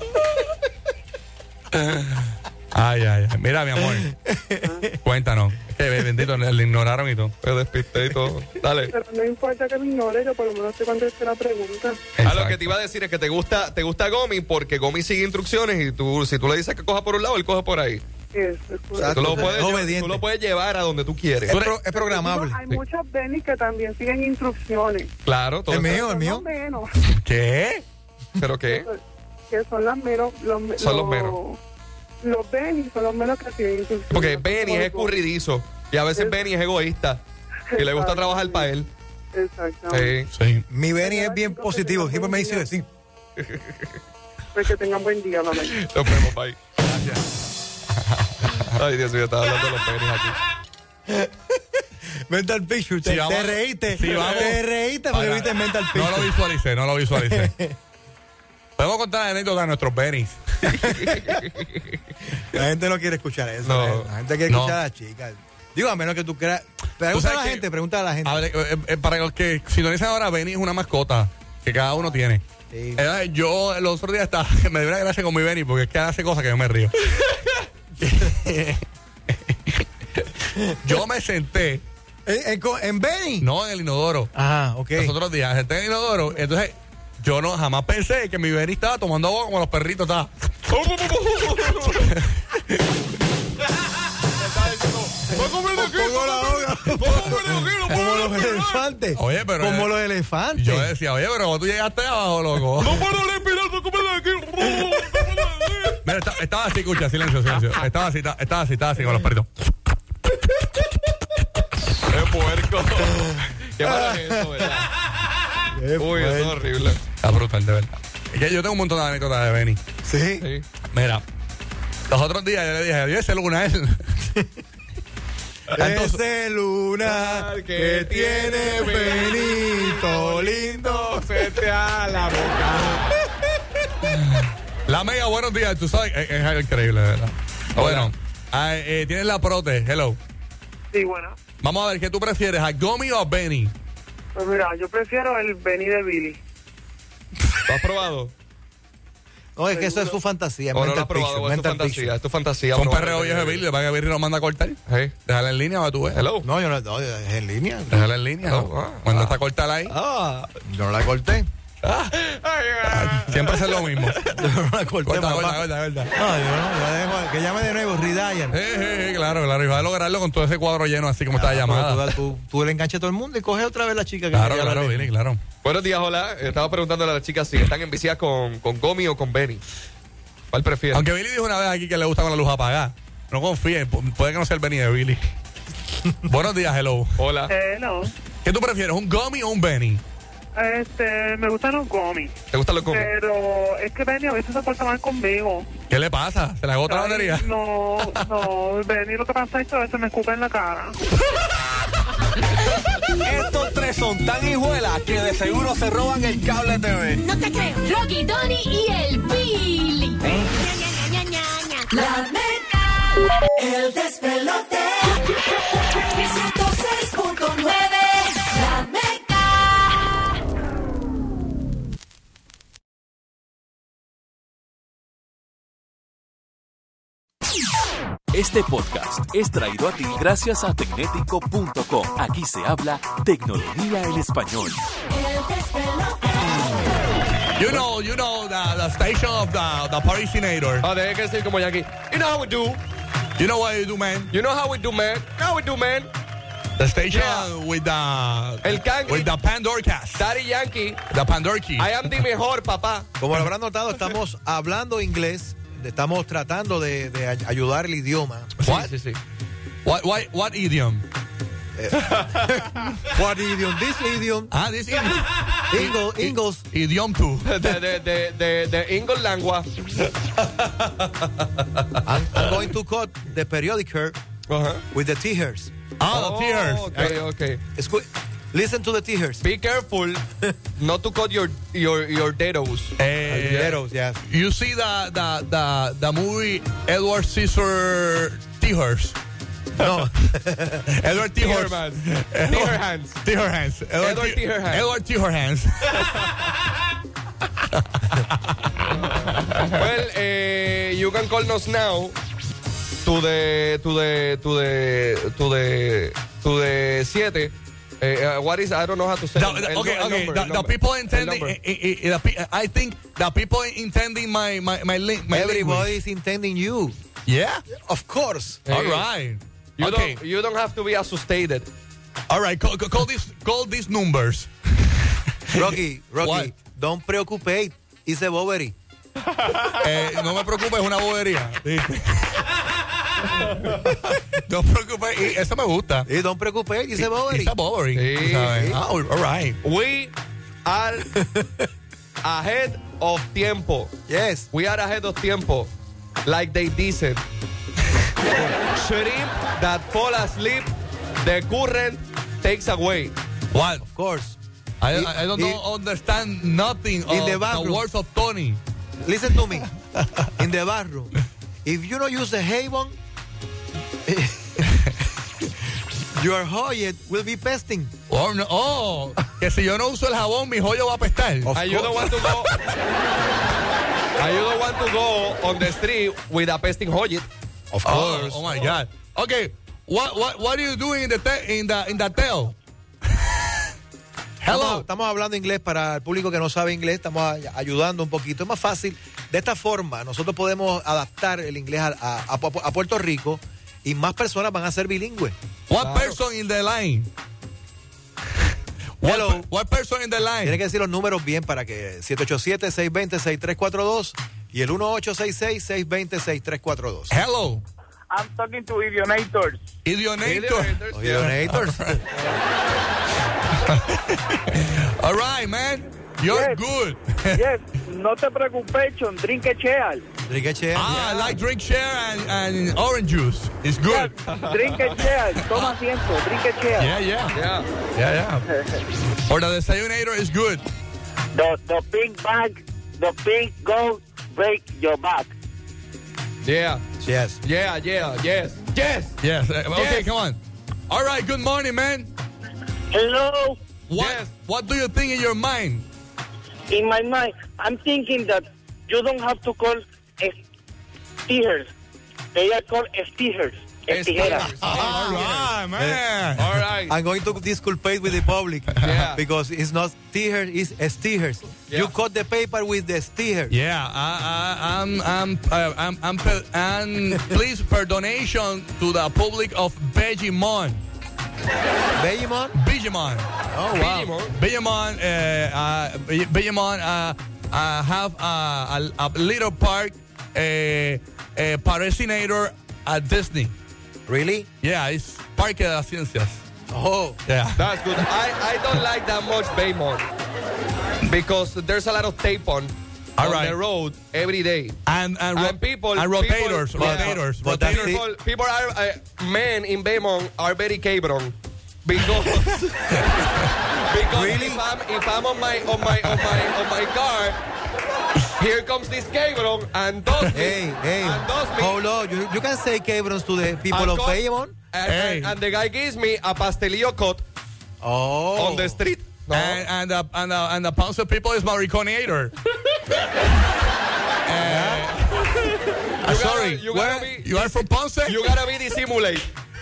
Ay, ay, ay. Mira, mi amor. Cuéntanos. Es que bendito, le ignoraron y todo.
Me despisté y todo. Dale.
Pero no importa que me ignore, yo por lo menos te contesté la pregunta.
Ah, lo que te iba a decir es que te gusta, te gusta Gomi porque Gomi sigue instrucciones y tú, si tú le dices que coja por un lado, él coge por ahí.
Eso es
O sea,
Tú lo,
Es
puedes llevar,
obediente.
tú lo puedes llevar a donde tú quieres.
Es, pro- es programable.
Hay muchos Benny que también siguen instrucciones.
Claro, todo
El
está-
mío, el
Son
mío.
los menos.
¿Qué?
¿Pero qué?
Que son las menos. Los, me-
Son los menos.
Los Benny son los menos que siguen instrucciones.
Porque Benny es
Como-
escurridizo y a veces Benny es egoísta y le gusta trabajar para él.
Exactamente.
Sí.
Sí.
Mi Benny es bien positivo. Siempre me dice sí.
Pues que tengan buen día, mamá.
Nos vemos, bye. Ay, Dios mío, estaba hablando de los Benny aquí.
Mental Picture. Te,
Sí, vamos-
te reíste.
sí, vamos.
Te reíste porque
Para-
viste Mental
No lo
Picture.
visualicé, no lo visualicé. Podemos contar la anécdota de nuestros Bennys.
La gente no quiere escuchar eso.
No.
La gente quiere
No.
escuchar a las chicas. Digo, a menos que tú creas.
Tú
Pregunta a
sabes
la
que-
gente, pregunta a la gente.
Hable- eh, eh, para los que sintonizan ahora, Benny es una mascota que cada uno tiene.
Sí.
Eh, yo el otro día estaba, me dio una gracia con mi Benny porque es que hace cosas que yo me río. Yo me senté,
¿En, en, co- en Benny?
no en el inodoro,
Ah, ok.
los otros días, senté en el inodoro, entonces yo no jamás pensé que mi Benny estaba tomando agua como los perritos. Estaba.
Como los elefantes.
Oye, pero.
Como
eh,
los elefantes.
Yo decía, oye, pero cuando tú llegaste abajo, loco.
No puedo respirar, no comer aquí.
Mira, estaba, estaba así, escucha, silencio, silencio. Estaba así, estaba, estaba así, estaba así con los perritos.
¡Qué puerco! ¡Qué malo es eso, verdad! Uy, eso es horrible.
Está brutal, de verdad. Es que yo tengo un montón de anécdotas de Benny.
Sí.
Sí.
Mira, los otros días yo le dije, adiós, ese luna a él.
Ese lunar que tiene Benito lindo.
Vete a la boca.
La Mega, buenos días. Tú sabes, es, es increíble, de verdad. Bueno, ah, eh, tienes la prote. Hello.
Sí, bueno.
Vamos a ver, ¿qué tú prefieres, a Gomi o a Benny?
Pues mira, yo prefiero el Benny de Billy.
¿Lo has probado?
No, es que eso es su fantasía.
¿O no lo
mental
has probado?
picture,
¿O es tu
mental
fantasía?
picture.
Es tu fantasía.
Con
probar
perreo
el
viejo de Billy, le van a Billy y lo manda a cortar.
Sí.
Déjala en línea o tú ves.
Hello.
No, yo no, no, es en línea.
Déjala en línea.
Oh,
¿no?
ah,
Cuando
ah.
está cortada ahí,
Ah.
Yo no la corté.
siempre hace lo mismo.
Yo no la corté,
Corta,
papá.
corta, corta, corta.
No, yo no, yo dejo que llame de nuevo, Ridayan.
Eh, eh, eh, claro, claro. Y va a lograrlo con todo ese cuadro lleno, así como está la
Pero
llamada.
Tú, tú, tú le enganches a todo el mundo y coge otra vez la chica que
Claro,
quería
claro,
hablar de-
Billy, claro.
Buenos días, hola. Estaba preguntándole a las chicas si están enviciadas con, con Gomi o con Benny. ¿Cuál prefieres?
Aunque Billy dijo una vez aquí que le gusta con la luz apagada. No confíen, pu- puede que no sea el Benny de Billy. Buenos días, hello.
Hola.
Eh, no.
¿Qué tú prefieres, un Gomi o un Benny?
Este, me gustan los gomis.
¿Te gustan los Gomi?
Pero es que Benny a veces se porta mal conmigo.
¿Qué le pasa? ¿Se le agota la
Ay,
batería?
No, no, Benny lo que pasa es que a veces me escupe en la cara.
Estos tres son tan hijuelas que de seguro se roban el cable T V.
No te creo.
Rocky, Tony y el Billy.
Ña, ña, ña, ña, ña. La Mega, el despelote. ciento seis punto nueve. La Mega.
Este podcast es traído a ti gracias a tecnético punto com. Aquí se habla tecnología en español.
El despelote.
You know, you know, the, the station of the, the Parisinator.
Ah, debe que decir como Yankee. You know how we do.
You know what you do, man?
You know how we do, man. How we do, man.
The station
Yeah.
with the...
El Cangri.
With the Pandora cast.
Daddy Yankee.
The Pandora key.
I am the mejor, papá.
Como lo habrán notado, estamos hablando inglés. Estamos tratando de, de ay- ayudar el idioma.
What?
Sí, sí, sí.
What, what, what idiom?
What idiom? This idiom.
Ah, this idiom.
Ingo, Ingles.
Idiom two.
De, de, de, de, de English language.
I'm, I'm going to cut the periodical
Uh-huh.
with the tears.
Ah, the tears.
Okay, okay.
Escu- Listen to the tears.
Be careful not to cut your your your dedos.
Eh,
Tears, yes.
You see the, the, the, the movie Edward Scissor Tears.
No.
Edward Tears.
Tearman. Tearhands.
Tearhands.
Edward Tearhands.
Edward Tearhands.
Well, eh, you can call us now to the to the to the to the to the siete. Uh, what is I don't know how to say.
The-
el-
the-
el-
okay,
el
okay.
number,
The,
el
the
number.
people
El
intending,
number.
I, I- the pe- I think the people intending my my my link. My
Everybody
language.
is intending you.
Yeah.
Of course.
Hey.
All right.
You
okay.
don't you don't have to be asustated.
All right. Call, call, call these call these numbers.
Rocky, Rocky,
What?
don't preoccupate. It's a bobery.
Eh, no me preocupes, es una bobería. No te preocupes, y eso me gusta.
Y don't preoccupate, it's a bobery.
It's a bobery.
Sí.
tú sabes. Ah, all right.
We are ahead of tiempo.
Yes.
We are ahead of tiempo. Like they dicen. Shrimp that fall asleep, the current takes away.
What?
Of course.
I,
Y-
I don't
y-
know, understand nothing
In
of
the
the,
bathroom.
words of Tony.
Listen to me. In the bathroom. If you don't use the Haven, your Hoyet will be pesting.
Oh, no, oh, que si yo no uso el jabón, mi joyo va a apestar.
Of
And you don't want to go. And you don't want to go on the street with a pesting hoyet.
Of
Oh,
course.
oh my God. Okay, what what what are you doing in the te- in the in the tail? Hello.
Estamos, estamos hablando inglés para el público que no sabe inglés, estamos a- ayudando un poquito. Es más fácil. De esta forma, nosotros podemos adaptar el inglés a, a- a- a Puerto Rico y más personas van a ser bilingües.
What person in the line? What,
Hello.
per- what person in the line?
Tiene que decir los números bien para que siete ocho siete, seis dos cero, seis tres cuatro dos y el uno ocho seis seis, seis dos cero, seis tres cuatro dos.
Hello.
I'm talking to Idionators.
Idionator.
Idionators.
All right, man. You're
Yes.
good.
Yes, no te preocupes, Chon, drink a cheal.
Enrique
Ah, I like drink share and, and orange juice. It's good.
Drink a cheal, toma asiento, drink a cheal.
Yeah, yeah.
Yeah.
Yeah, yeah. Or the desayunator is good.
The, the big bag, the big goat break your back.
Yeah.
Yes.
Yeah, yeah, yes. Yes.
Yes. Uh, okay,
Yes.
come on. All right, good morning, man.
Hello.
What
Yes.
What do you think in your mind?
In my mind, I'm thinking that you don't have to call steers. They are called steers. Estijeras.
All right, man.
All right.
I'm going to disculpate with the public
Yeah.
because it's not steers, it's steers.
Yeah.
You cut the paper with the steers.
Yeah, I, I, I'm, I'm, uh, I'm, I'm, per- and please for donation to the public of Vegemon.
Vegemon?
Vegemon.
Oh, wow.
Vegemon, uh, uh, Vegemon uh, uh, have uh, a, a little park, uh, uh, patrocinator at Disney.
Really?
Yeah, it's Parque de las Ciencias.
Oh.
Yeah.
That's good. I, I don't like that much Baymont because there's a lot of tape on,
All
on
right.
the road every day.
And and, ro-
And people-
and rotators,
people- yeah.
rotators,
But that's
rotators.
People, people are, uh, men in Baymont are very cabron because, because
Really?
if, I'm, if I'm on my, on my, on my, on my car, here comes this cabron and does me,
Hey, hey.
and does me,
Hold on. You, you can say cabrons to the people
and
of
cut-
Vegemon?
and,
Hey.
and, and the guy gives me a pastelillo cut
Oh.
on the street. No.
And and the and the, and the Ponce people is Mariconator. uh,
You
sorry,
gotta- you
where-
gotta be-
you are from Ponce?
You gotta be dissimulate.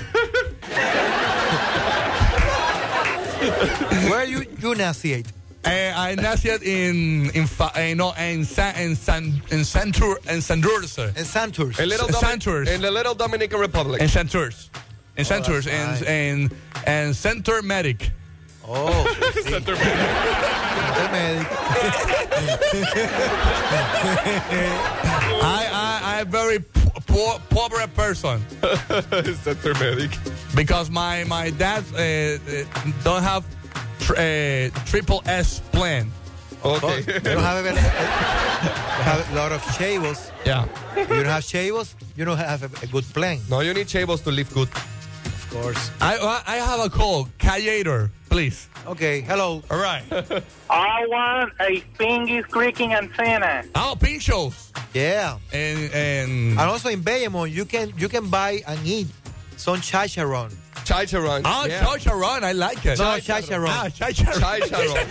Where you, you naciate?
Uh, I nacied in in fa- uh, no in San in San in Santur in Santurce.
In Santurce.
In little
S-
Domin-
Santurce.
in the little Dominican Republic.
In Santurce. In Santurce
that's nice.
and and and Center Medic.
Oh. Center Medic.
I I I very po- poor poor person
Center medic.
because my my dad uh, uh, don't have tr- uh, triple S plan.
Okay.
You don't have, a, you have a lot of chavos.
Yeah.
If you don't have chavos, you don't have a, a good plan.
No, you need chavos to live good.
Of course.
I I have a call. Callator, please.
Okay, hello.
All right.
I want a Pingis creaking antenna.
Oh, pinchos.
Yeah.
And and
And also in Bayamon, you can you can buy and eat some chicharron.
Chicharron.
oh,
yeah.
chicharron. I like it.
No, chicharron.
Ah, chicharron.
Chicharron.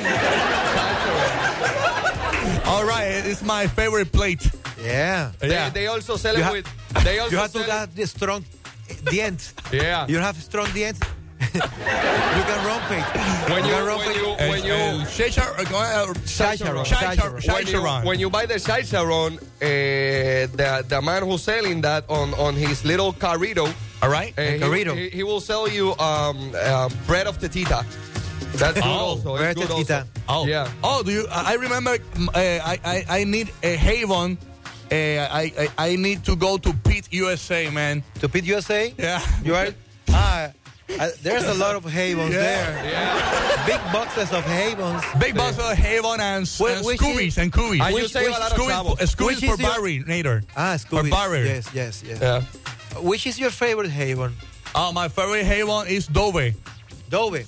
All right, it's my favorite plate.
Yeah.
Yeah.
They, they also sell
You
it
ha-
with. They also
You have to
sell
have the strong dents.
Yeah.
You have strong dents. You can romp it.
When you
can romp
when
it.
you when you
Uh, chicharron. uh,
Chicharron.
Chicharron.
when you,
Chicharron.
when you buy the chicharron, uh, the the man who's selling that on on his little carrito,
All right.
uh, he,
carrito.
he, he will sell you um, um, bread of tetita. That's good
Oh,
also.
bread
It's good
tetita.
also.
Oh,
Yeah.
Oh, do you? I I remember. mm, Uh, I, I I need a Haven. Uh, I, I I need to go to Pete U S A, man.
To Pete U S A?
Yeah.
You are. Ah, uh, there's a lot of havens
Yeah.
there.
Yeah.
Big boxes of havens.
Big boss of Haven and,
Wh-
and
which
Scoobies
is-
and Coobies.
And you
Which-
save
which
a lot of
Scoobies,
trouble.
uh, Scoobies
Which
for
is your-
Barry
Ah, Scooby.
barrier.
Yes, yes, yes.
Yeah.
Which is your favorite haven?
Oh, my favorite Haven is Dove.
Dove.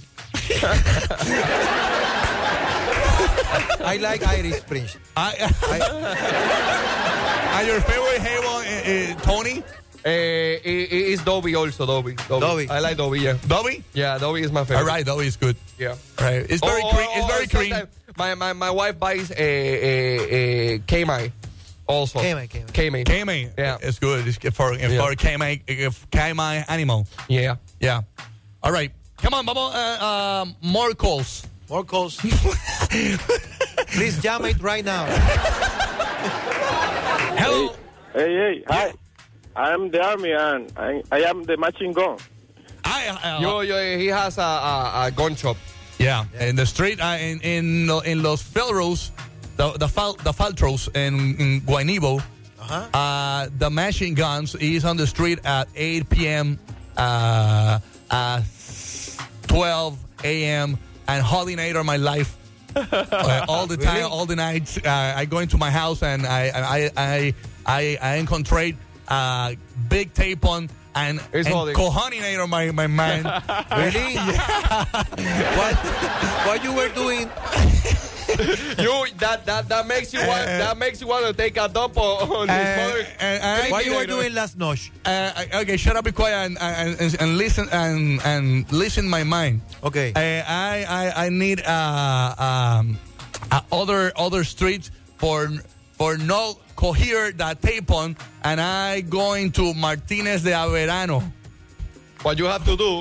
I like Irish Spring.
I,
I,
and your favorite Haven, uh, uh, Tony?
Uh, it, it's Dobby also, Dobby. Dobby.
Dobby.
I like Dobby, yeah.
Dove?
Yeah, Dobby is my favorite.
All right, Dove is good.
Yeah.
All right, it's very
Or-
cream.
or-
It's
or
very cream.
sometimes My, my, my wife buys a, a, a K-Mai also.
K-Mai, K-Mai.
K-Mai.
K-Mai,
Yeah.
it's good. It's for
Yeah.
for K-Mai, K-Mai animal.
Yeah.
Yeah. All right. Come on, Bubba. Uh, uh, more calls.
More calls. Please jam it right now.
Hello.
Hey, hey, hi. I'm the army and I, I am the machine gun.
I, uh,
Yo, yo, he has a, a, a gun shop.
Yeah, in the street, uh, in in in Los Felros, the the fal, the Faltros in, in Guaynabo,
Uh-huh.
uh, the machine guns is on the street at eight p.m. Uh, uh, twelve a.m. and holding on my life uh, all the time,
Really?
all the nights. Uh, I go into my house and I I I I, I encontrate uh, big tape on. And,
It's
and
holding.
cojoninator my, my mind.
Really? what, what you were doing?
You that that that makes you want that makes you want to take a dump on his
Uh,
mother.
and- and-
What you were doing last night?
Uh, okay, shut up, be quiet, and, and, and, and listen and and listen my mind.
Okay.
Uh, I I I need uh, um, uh, other other streets for for no cohere that tape on, and I going to Martinez de Averano.
What you have to do?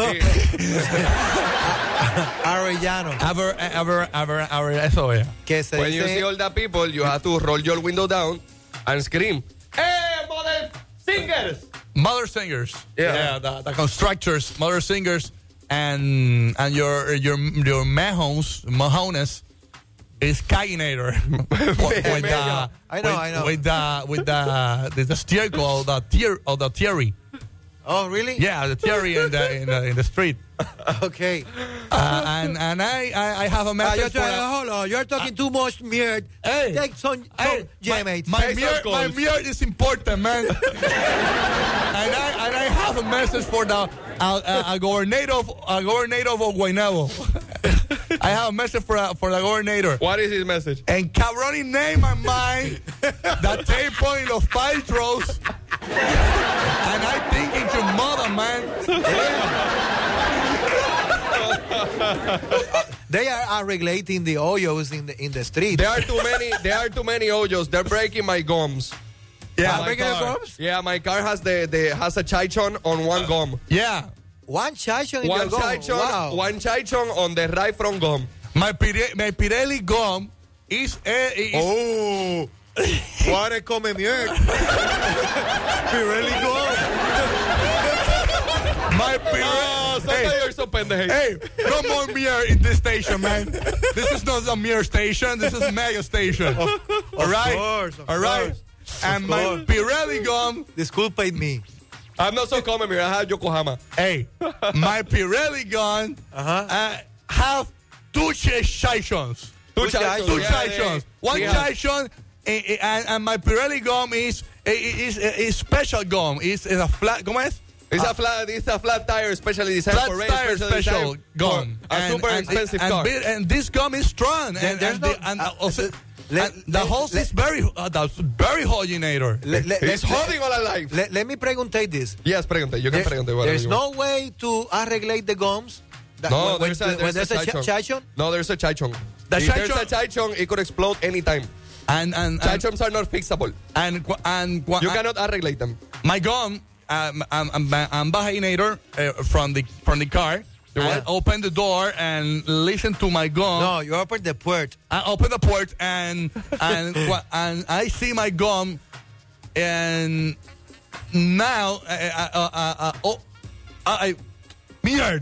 Arellano.
Aver Aver Aver Aver eso es.
Que se
When you
dice-
see all the people, you have to roll your window down and scream, "Hey, mother singers!"
Mother singers.
Yeah.
the, the constructors, mother singers, and and your your your mahones mahones is Kayinator. with, with the,
I know,
with,
I know.
With the with the the, the steerco of the tier of the theory.
Oh, really?
Yeah, the theory in the in the, in the street.
Okay.
Uh, and and I, I I have a
Uh,
message
you're,
for
trying,
a-
hold on. You're talking too much, Mirt.
Hey.
Take some, some
Hey,
jam
my,
it.
my,
Take
mirror,
some
my
calls.
mirror is important, man. and I and I have a message for the uh, uh, a governor of a governor of Guaynabo. I have a message for uh, for the governor.
What is his message?
And cabrón name my mind that tape point los paltros. And I think it's your mother, man.
They are, are regulating the hoyos in the in the street.
There are too many. There are too many hoyos. They're breaking my gums.
Yeah,
Are breaking
car.
the gums?
Yeah, my car has the, the has a chichon on one gum.
Yeah.
One chichon in
One
your gum.
chichon,
Wow.
one chichon on the right front gum.
My Pire- my Pirelli gum is, uh, is
Oh. Juárez come Mirt. Pirelli gum.
my Pirelli.
Oh, sometimes you're so pendejo.
Hey, no more mirror in this station, man. This is not a mirror station. This is mega station. All right,
course, of
all right.
course.
And
Of
my
course.
Pirelli gum.
The school paid me.
I'm not so common. I have Yokohama.
Hey, my Pirelli gum
Uh-huh.
uh, have two chichons.
Two
Two
chichons.
Two
Yeah,
chichons.
they-
One
yeah.
chichon, eh, eh, and, and my Pirelli gum is is, is, is special gum. It's, it's a flat. ¿Cómo es?
It's a flat. It's a flat tire, especially designed
Flat
for race,
tire
specially
special
designed
gum.
for a super expensive
and,
car.
bi- and this gum is strong.
There-
And,
there's
and,
no-
the, and
uh,
also,
uh, let-
and the
let-
hose
let-
is very, uh, that's very holdinator.
Le- le-
He's
le-
holding all alive.
Let, let me preguntate this.
Yes, pregunte. You can
There-
pregunte. whatever
there's
you
no
want.
way to uh, regulate the gums. That-
No,
when,
there's a,
when,
there's
when there's a,
chichon.
ch- chichon.
No, there's a chichon.
The
if there's
chichon-
a chichon, it could explode anytime.
And and and,
Chichons are not fixable.
and, qu- and, qu-
You
uh,
cannot regulate them.
my gum, um, I'm, I'm, I'm holdinator uh, from the from the car.
You
I
what?
open the door and listen to my gum.
No, you open the port.
I open the port and and qu- and I see my gum, and now uh, uh, uh, uh, uh, oh, I weird.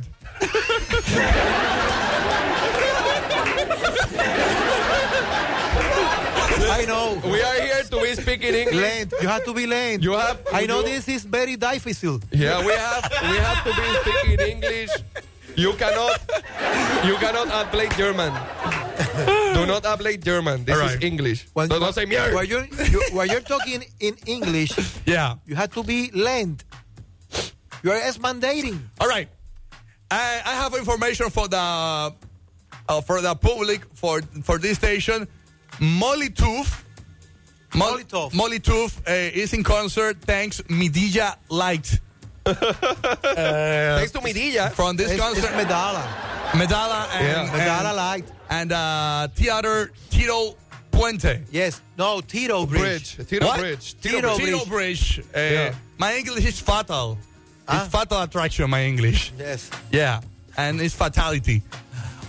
I know.
We are here to be speaking English.
Lane. You have to be lane.
You have.
I know
you-
this is very difficult.
Yeah, we have. We have to be speaking English. You cannot. You cannot apply German. Do not apply German. This
All
is
right.
English.
When,
Don't, don't say mierda.
When you're, you, when you're talking in English,
Yeah.
you have to be lent. You are mandating.
All right. I, I have information for the uh, for the public for for this station. Molly Tooth. Mol-
Molotov.
Molly Tooth uh, is in concert. Thanks Midilla Light.
Thanks to Midilla.
From this
It's, it's
concert,
Medalla.
Medalla and,
Yeah.
Medalla
and,
light.
and uh, Theater Tito Puente.
Yes. No, Tito Bridge.
Bridge. Tito
What?
Bridge.
Tito
Tito Bridge. Uh,
Yeah.
My English is fatal.
Ah.
It's fatal attraction, my English.
Yes.
Yeah, and it's fatality.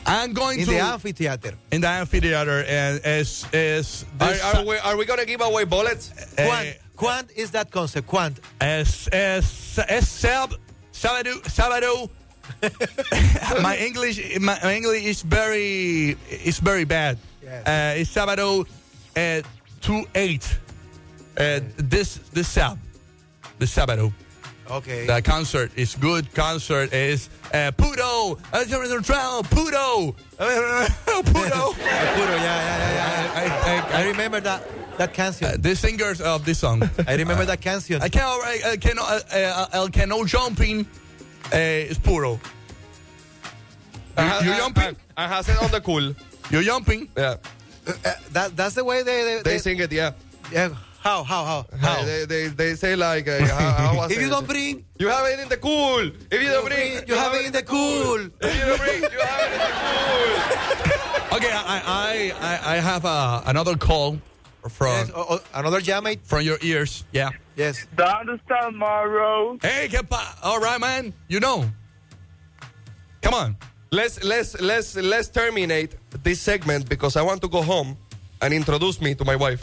I'm going
in
to
the amphitheater.
in the amphitheater and is is
Are,
this,
are, we, are we going to give away bullets?
Quant,
eh,
quant is that concept? Quant.
es es es sab sábado sábado. my English my English is very is very bad.
Yes.
Uh, it's sábado at two eight. Uh, this this Sab, this sábado.
Okay.
The concert is good. Concert is uh, Puto, uh, Puto, Puto, Puto.
Puro, yeah, yeah, yeah, yeah.
I, I,
I
I,
remember that that canción.
uh, the singers of this song.
I remember that canción.
I can't, I, I cannot, uh, uh, El que no jumping uh, is Puro. You,
Ajá,
you
ajá,
jumping?
Ajá, say on the cool.
You jumping?
Yeah.
Uh, uh, that that's the way they they,
They
they
sing it, yeah.
yeah, how how how how.
They, they, they say like, uh, how, how I
If
say
you
it?
don't bring,
You have it in the cool. If you don't bring,
you have it in the cool.
If you don't bring, you have it in the cool.
Okay, I, I, I, I have uh, another call from
Yes, oh, oh, another jammate.
from your ears. Yeah.
Yes.
¿Dónde está Morrow?
Hey, ¿qué pa? All right, man. You know. Come on.
Let's let's let's let's terminate this segment because I want to go home and introduce me to my wife.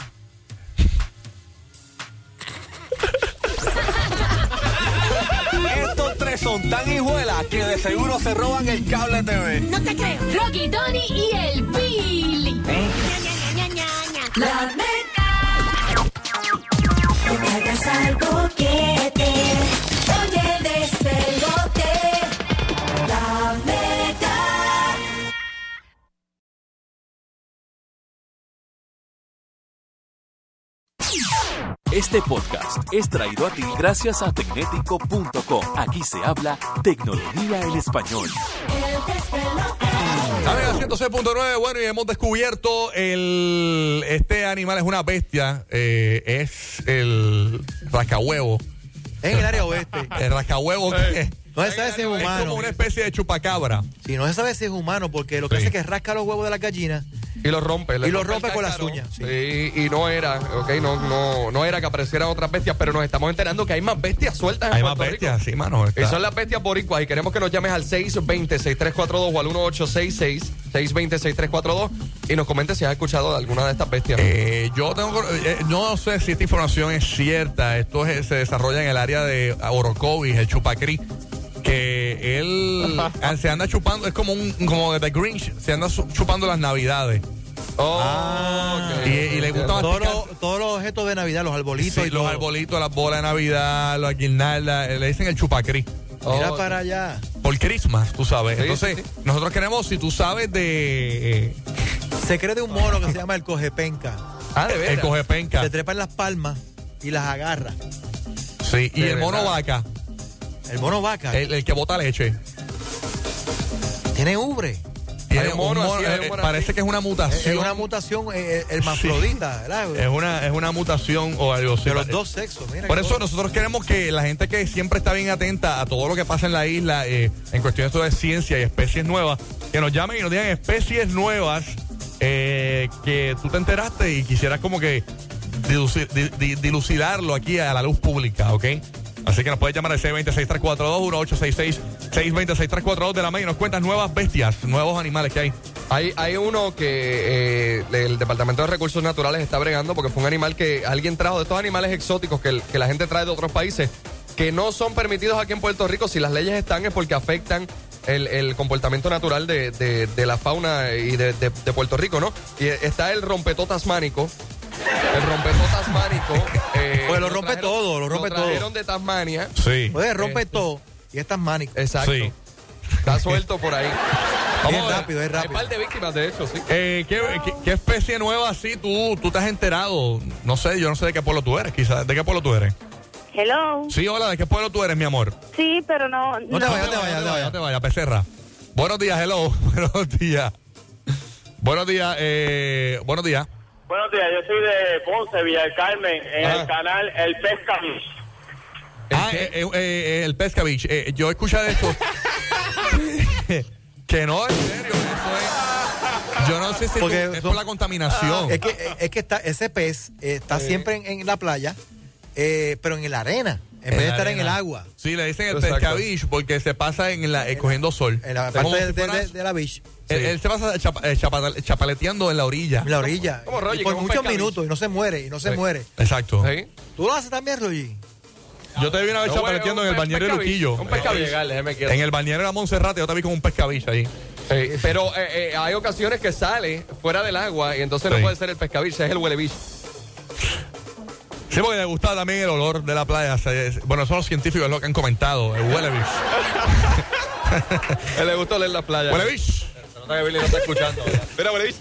Estos tres son tan hijuelas que de seguro se roban el cable T V.
No te creo.
Rocky, Tony y el Billy.
Ña, ña, ña, ña. La Mega. No te hagas algo que te oye despelote. La Mega.
Este podcast es traído a ti gracias a tecnético punto com. Aquí se habla tecnología en español.
El despelote.
Amiga ciento seis punto nueve, bueno, y hemos descubierto el este animal es una bestia, eh, es el rascahuevo.
Es en el área oeste.
El rascahuevo que
No se sabe si es
es
humano.
como una especie de chupacabra.
Sí, no se sabe si es humano porque lo que
Sí.
hace es que rasca los huevos de las gallinas
Y lo rompe. le
y lo
el
rompe con las
cáscaro.
uñas. Sí.
Sí, y no era, ok, no, no, no era que aparecieran otras bestias, pero nos estamos enterando que hay más bestias sueltas en
Hay más
Puerto
bestias,
Rico.
sí, mano. está-
Y son las bestias boricuas y queremos que nos llames al seis veinte, seis tres cuatro dos o al uno ocho seis seis, seis veinte, seis tres cuatro dos y nos comentes si has escuchado de alguna de estas bestias.
Eh, yo tengo, eh, no sé si esta información es cierta. Esto es- se desarrolla en el área de Orocovis, el chupacrí, que él se anda chupando, es como un como de The Grinch, se anda su- chupando las navidades.
Oh,
Ah.
ok,
Y- y le gusta
Todos
masticar-
los, todos los objetos de Navidad, los arbolitos
Sí,
y
los
todo.
arbolitos, las bolas de Navidad, las guirnaldas, eh, le dicen el chupacrí.
Mira
Oh,
para allá.
Por Christmas, tú sabes.
Sí,
Entonces,
sí, sí.
nosotros queremos, si tú sabes de eh,
Se cree de un mono que se llama el cogepenca.
Ah, de
el
veras.
cogepenca,
Se trepa en las palmas y las agarra.
sí, y
De
el mono
verdad.
vaca,
El mono vaca
el, el que bota leche.
tiene ubre.
Tiene
un mono así, hay un
eh,
mono
parece
así.
que es una
Es
mutación.
una mutación eh, hermafrodita, ¿verdad?
Es una, es una mutación o algo así.
De los dos sexos. Mira
Por
qué
eso
cosa.
nosotros queremos que la gente que siempre está bien atenta a todo lo que pasa en la isla, eh, en cuestiones de ciencia y especies nuevas, que nos llamen y nos digan especies nuevas eh, que tú te enteraste y quisieras como que diluci- di- di- dilucidarlo aquí a la luz pública, ¿ok? Así que nos puedes llamar al seis veinte, seis tres cuatro dos, uno ocho seis seis, seis veinte, seis tres cuatro dos de la Mega y nos cuentas nuevas bestias, nuevos animales que hay.
Hay, hay uno que eh, el Departamento de Recursos Naturales está bregando porque fue un animal que alguien trajo de estos animales exóticos que, el- que la gente trae de otros países que no son permitidos aquí en Puerto Rico. Si las leyes están es porque afectan el, el comportamiento natural de, de- de la fauna y de, de- de Puerto Rico, ¿no? Y está el rompetó tasmánico. El rompetó tasmánico. eh,
Pues lo rompe todo, lo rompe todo.
trajeron de Tasmania.
Sí.
Oye, rompe
Este.
todo. Y estas mánicas.
Exacto.
Sí.
Está suelto por ahí.
Es
a ver.
rápido, es
Hay un
rápido.
par de víctimas, de hecho, sí.
Eh, ¿qué, qué, qué especie nueva así tú, tú te has enterado? No sé, yo no sé de qué pueblo tú eres, quizás. ¿De qué pueblo tú eres?
Hello.
Sí, hola, ¿de qué pueblo tú eres, mi amor?
Sí, pero no.
No te vayas, no te vayas, no te
No
vayas.
te vayas, Becerra. Buenos días, hello. Buenos días. Buenos días, eh, buenos días.
Buenos días, yo soy de Ponce, Villa del Carmen, en
Ah.
el canal El Pesca.
Ah, eh, eh, eh, el Pesca Beach. Eh, yo escuché de esto. Que no, en serio, eso es. Yo no sé si
Porque
tú- es
son-
por la contaminación.
Es que, es que está, ese pez eh, está siempre en, en la playa, eh, pero en la arena. En vez de estar en el agua.
Sí, le dicen el
Exacto.
pescabish porque se pasa en la, eh, cogiendo sol.
En la
Es como
parte de,
si
de-
fuera-
de- de la beach.
él, él se pasa chapa- eh, chapa- chapaleteando en la orilla.
En la orilla.
Como Roger,
Y por
como un
muchos
pescabicho.
minutos y no se muere, y no se
Sí.
muere.
Exacto.
¿Sí?
¿Tú lo haces también, Roger?
Yo te vi una vez
No,
chapaleteando
un
en el
pe-
bañero de
pescabicho,
Luquillo.
Un pescabicho.
Llegar, déjeme quieto.
En el bañero de la Monserrate yo te vi con un pescabicho ahí.
Sí, pero eh, eh, hay ocasiones que sale fuera del agua y entonces
Sí.
no puede ser el pescabicho, es el huelebicho.
Sí, porque le gustaba también el olor de la playa. Se- bueno, eso los científicos es lo que han comentado. El huelebish.
A él le gusta oler la playa.
Huelebish.
Se nota que Billy no está escuchando. ¿verdad?
Mira, huelebicho.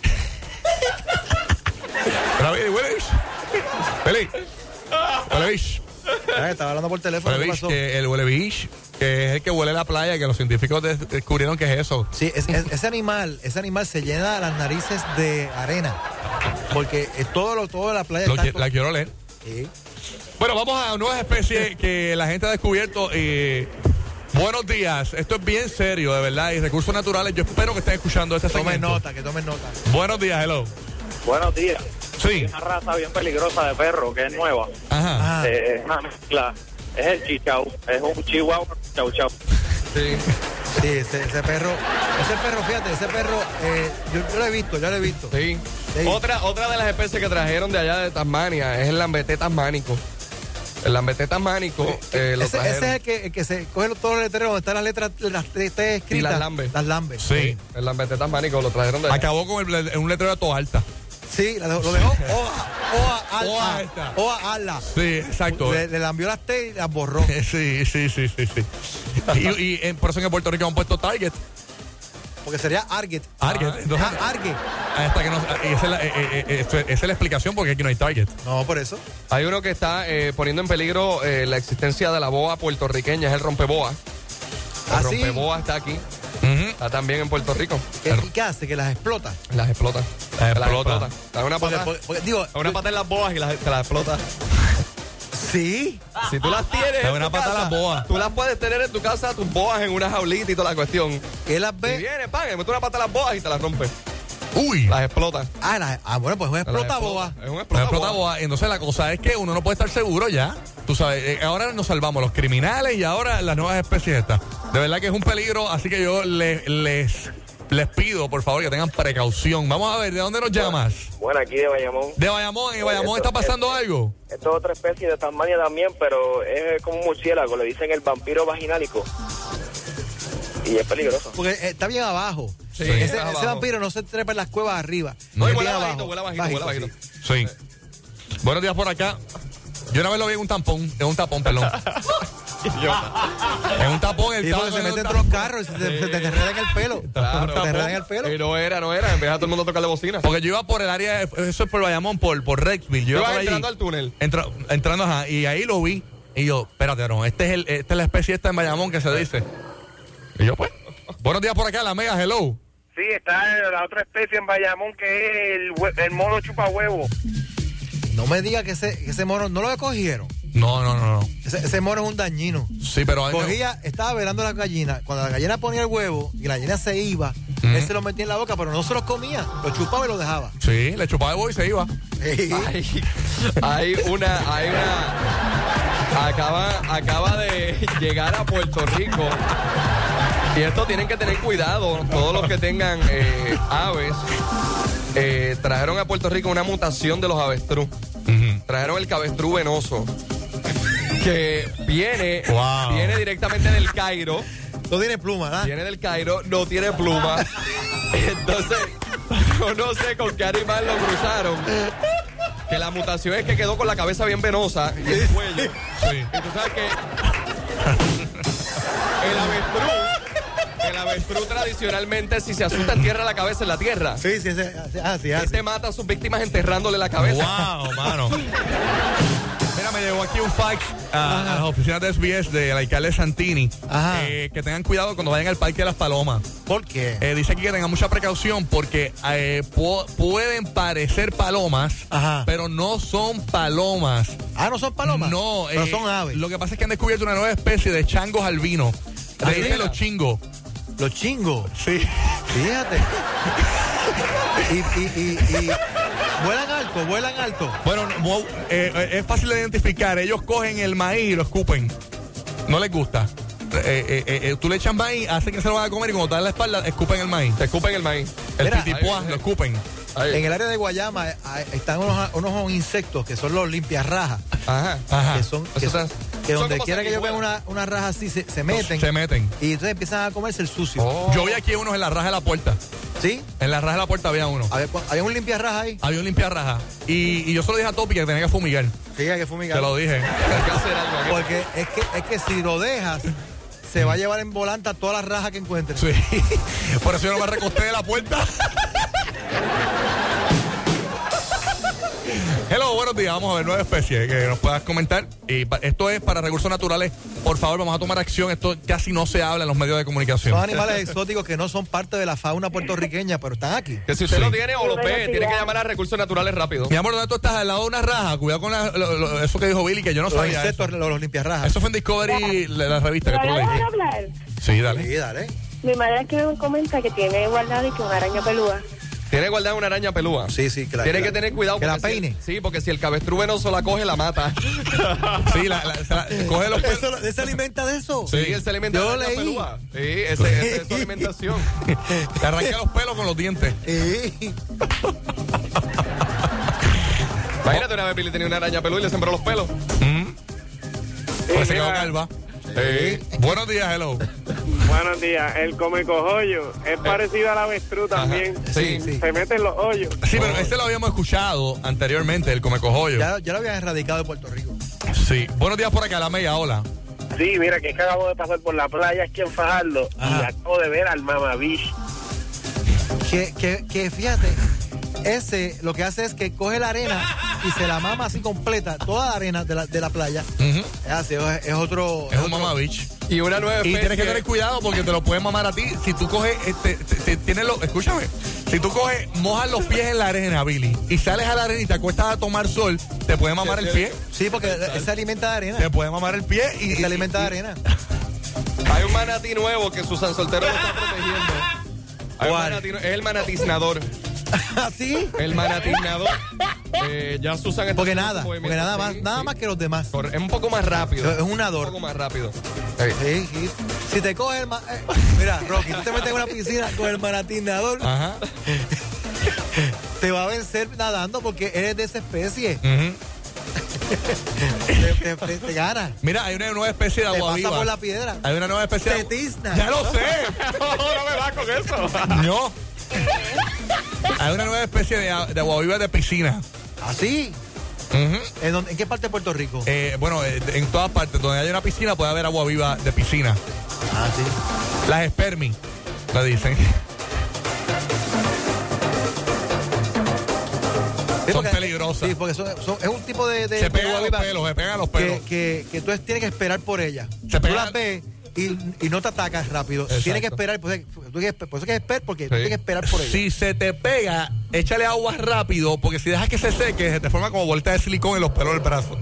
Pero, Billy, huelebish. Billy. Huelebish.
Ah, estaba hablando por teléfono. ¿Qué
Huelebish,
pasó?
que el huelebish, que es el que huele la playa, que los científicos de- descubrieron que es eso.
Sí, es- es- ese animal, ese animal se llena las narices de arena. Porque es todo lo, todo la playa
Lo
está
que-
con-
la quiero leer.
Sí.
Bueno, vamos a nuevas especies que la gente ha descubierto. eh, buenos días. Esto es bien serio, de verdad. Y recursos naturales, yo espero que estén escuchando este
Tomen
segmento.
nota, que tomen nota.
Buenos días, hello.
Buenos días.
Sí.
Una raza bien peligrosa de perro que es nueva.
Ajá.
Ah,
Eh, es una mezcla. Es el chichau. Es un chihuahua chau chau.
Sí.
sí, ese, ese perro, ese perro, fíjate, ese perro, eh, yo, yo lo he visto, yo lo he visto.
Sí.
Sí.
Otra, otra de las especies que trajeron de allá de Tasmania es el lambeté tasmánico. El lambeté tasmánico eh, lo
ese,
trajeron.
ese es el que, el que se coge los- todos los letreros donde están las letras, las T T escritas.
Y las lambe.
Las lambe.
Sí.
El lambeté tasmánico lo trajeron de allá.
Acabó con el, un letrero de toda alta.
Sí, la dejó- lo dejó Oa, Oa,
Oa
Alta.
alta.
Oa, Ala.
Sí, exacto.
Le, le lambió las T y las borró.
Sí, sí, sí, sí, sí. Y, y en- por eso en Puerto Rico han puesto Target.
Porque sería Arget.
Target. Entonces,
Ah, Arget.
hasta que no, esa, es la, eh, eh, eh, esa es la explicación porque aquí no hay Target.
No, por eso.
Hay uno que está eh, poniendo en peligro eh, la existencia de la boa puertorriqueña, es el rompeboa. El
¿Ah, sí?
rompeboa está aquí,
Ujú.
está también en Puerto Rico.
¿Qué, ¿Y qué hace? Que las explota.
Las explota.
Las explota.
Da una
Porque,
pata,
porque- porque, digo,
da una pata en las boas y las, te las explota.
sí.
Si tú las tienes
Da
en
una
tu
pata a
casa,
las boas.
tú las puedes tener en tu casa, tus boas en una jaulita y toda la cuestión.
Él las
Y
ve.
viene, pan, le mete una pata a las boas y te las rompe.
Uy.
Las explota.
Ah, las- ah, bueno, pues es un
Las
explota boa.
Es un
No
explota,
explota boa. Entonces la cosa es que uno no puede estar seguro ya. Tú sabes, eh, ahora nos salvamos los criminales y ahora las nuevas especies estas. De verdad que es un peligro, así que yo les, les, les pido, por favor, que tengan precaución. Vamos a ver, ¿de dónde nos llamas?
Bueno, aquí de Bayamón.
De Bayamón. ¿En Bayamón
Esto-
está pasando algo?
Esto es otra especie de Tasmania también, pero es como un murciélago. Le dicen el vampiro vaginálico. Y es peligroso.
Porque eh, está bien abajo.
Sí,
ese,
está
ese
abajo.
vampiro no se trepa en las cuevas arriba.
No, y
Es
huele
bien
bajito,
abajo.
huele bajito, huele bajito.
Sí. Buenos días por acá. Yo una vez lo vi en un tampón, en un tapón, perdón. en un tapón, el
Sí, porque se mete entre los carros y se, te- se te enreda en el pelo.
Claro.
Se te enreda en el pelo.
Y no era, no era. Empieza a todo el mundo a tocarle bocina.
Porque yo iba por el área, de- eso es por Bayamón, por, por Rexville. Yo
Tú
iba
vas
por allí.
entrando al túnel.
Entra- entrando, ajá, y ahí lo vi. Y yo, espérate, no, este es el, esta es la especie esta en Bayamón que se dice. Y yo, pues, buenos días por acá, la mega, hello.
Sí, está la otra especie en Bayamón que es el, hue- el mono chupa huevo.
No me digas que ese, que ese mono no lo cogieron.
No, no, no, no.
Ese, ese mono es un dañino.
Sí, pero...
Cogía, estaba velando las gallinas. Cuando la gallina ponía el huevo y la gallina se iba,
Ujú.
él se lo metía en la boca, pero no se los comía. Lo chupaba y lo dejaba.
Sí, le chupaba el huevo y se iba.
Sí.
Hay, hay una, hay una. Acaba, acaba de llegar a Puerto Rico. Y esto tienen que tener cuidado. Todos los que tengan eh, aves. eh, trajeron a Puerto Rico una mutación de los avestruz.
Ujú.
Trajeron el cabestrú venoso. Que viene,
Wow.
viene directamente del Cairo.
No tiene pluma, ¿verdad?
Viene del Cairo, no tiene pluma. Entonces, yo no sé con qué animal lo cruzaron. Que la mutación es que quedó con la cabeza bien venosa y el cuello.
Sí.
Y tú sabes que el avestruz, el avestruz tradicionalmente, si se asusta, entierra la cabeza en la tierra.
Sí, sí, sí. Así, así, así.
Este mata a sus víctimas enterrándole la cabeza.
Wow, mano. Mira, me llegó aquí un fax a, a las oficinas de S B S del alcalde Santini.
Ajá.
eh, que tengan cuidado cuando vayan al Parque de las Palomas.
¿Por qué?
Eh, dice aquí que tengan mucha precaución porque eh, pu- pueden parecer palomas,
Ajá.
pero no son palomas.
Ah, ¿no son palomas?
No,
pero
eh,
son aves.
Lo que pasa es que han descubierto una nueva especie de changos albinos.
Ah,
Le dicen
mira.
los chingos.
Los chingos.
Sí.
Fíjate. y, y, y, y Vuelan alto, vuelan alto.
Bueno, no, eh, eh, es fácil de identificar. Ellos cogen el maíz y lo escupen. No les gusta. Eh, eh, eh, eh, tú le echas maíz, hacen que se lo van a comer y cuando te dan la espalda, escupen el maíz.
Escupen el maíz.
El
Mira,
pitipuá,
ahí,
lo
ahí.
escupen.
Ahí.
En el área de Guayama eh, están unos, unos insectos que son los limpiarrajas.
Ajá.
Ajá.
Que son, que,
Eso
son-
está-
que
son
donde
como
quiera que ellos vean
sanguijuelas.
una, una raja así, se, se meten.
Se meten.
Y entonces empiezan a comerse el sucio.
Oh.
Yo vi aquí unos en la raja de la puerta.
¿Sí?
En la raja de la puerta había uno.
Había, había un limpiarraja ahí.
Había un limpiarraja. Y, y yo se lo dije a Topi que tenía que fumigar.
Sí, hay que fumigar.
Te lo dije.
Hay que hacer algo aquí.
Porque es que, es que si lo dejas, se va a llevar en volanta todas las rajas que encuentres.
Sí. Por eso yo no me recosté de la puerta. Hello, buenos días. Vamos a ver nueve especies que nos puedas comentar. Y pa- esto es para recursos naturales. Por favor, vamos a tomar acción. Esto casi no se habla en los medios de comunicación.
Son animales exóticos que no son parte de la fauna puertorriqueña, pero están aquí.
Que si usted
Sí.
lo tiene o lo
Buenos
ve,
días.
tiene que llamar a Recursos Naturales rápido.
Mi amor, ¿dónde tú estás? Al lado de una raja. Cuidado con la- lo- lo- eso que dijo Billy, que yo no
Los
sabía.
insectos,
Eso.
los, los limpiarrajas.
Eso fue en Discovery, la, la revista que tú
¿Me van a
leíste.
dejar hablar?
Sí, dale.
Sí, dale.
Mi madre aquí me comenta que tiene guardado y que una araña pelúa.
Tiene guardada una araña pelúa.
Sí, sí, que la-
Tiene
que
que
la-
tener cuidado.
que la
porque si-
peine.
sí, porque si el cabestruz venoso la coge, la mata.
Sí, la, la- se la- coge los pelos.
Eso, ¿se alimenta de eso?
Sí, él se alimenta
Yo
de araña
leí.
pelúa. Sí, ese, ese es su alimentación.
Te arranca los pelos con los dientes.
Sí.
Imagínate una vez Billy tenía una araña pelúa y le sembró los pelos.
Pues se quedó calva.
Sí.
Buenos días, hello.
Buenos días. El come cojollo es parecido al avestruz también.
Ajá. Sí,
sí.
Se mete en los hoyos.
Sí, pero ese lo habíamos escuchado anteriormente, el comecojollo.
Ya, ya lo habían erradicado de Puerto Rico.
Sí. Buenos días por acá, la Mega, hola.
Sí, mira, que es que acabo de pasar por la playa aquí en Fajardo
Ajá.
y acabo de ver al mamabicho.
Que, que, que fíjate, ese lo que hace es que coge la arena y se la mama así completa, toda la arena de la, de la playa.
Ujú.
Es así, es, es otro.
Es un
otro-
mamá bitch.
Y una nueva
Y
especie.
tienes que tener cuidado porque te lo pueden mamar a ti. Si tú coges, este, te- te- tienes los, escúchame, si tú coges, mojas los pies en la arena, Billy, y sales a la arena y te acuestas a tomar sol, te puede mamar el pie.
Sí, porque él se alimenta de arena.
Te puede mamar el pie y,
Y se alimenta de
y-
arena.
Hay un manatí nuevo que Susan Soltero lo está protegiendo. Hay un
¿Cuál?
manatí nue- es el manatiznador.
¿Así?
El manatiznador. Eh, ya Susan está
Porque
haciendo
nada,
su
porque
movimiento.
nada más,
Sí,
nada
sí.
más que los demás.
Corre- Es un poco más rápido.
Es un
Un
nadador.
poco más rápido.
Sí, sí. Si te coge el ma- eh, mira, Rocky, tú te metes en una piscina con el manatinador,
Ajá.
te va a vencer nadando porque eres de esa especie.
Ujú.
Te, te- te- te gana.
Mira, hay una nueva especie de
Te
agua
pasa
viva.
por la piedra.
Hay una nueva especie de
Te tizna.
Ya lo sé.
no, no me vas con eso.
No. Hay una nueva especie de, a- de agua viva de piscina.
¿Así?
Ujú.
¿En, dónde- en qué parte de Puerto Rico?
Eh, bueno, eh, en todas partes donde haya una piscina puede haber agua viva de piscina.
Ah, sí.
Las spermi, le dicen.
Sí,
Son
porque-
peligrosas.
Sí, porque son- son- es un tipo de, de
Se
de
pegan a los
guaviva
pelos, se pegan a los pelos.
que, que, que tú tienes que esperar por ella.
Se
tú
pegan-
las ves y, y no te atacas rápido.
Exacto.
Tienes que esperar, pues, tú tienes que- por eso que esperar, porque tú
Sí.
tienes que esperar por ella.
Si se te pega, échale agua rápido, porque si dejas que se seque, se te forma como bolita de silicón en los pelos del brazo.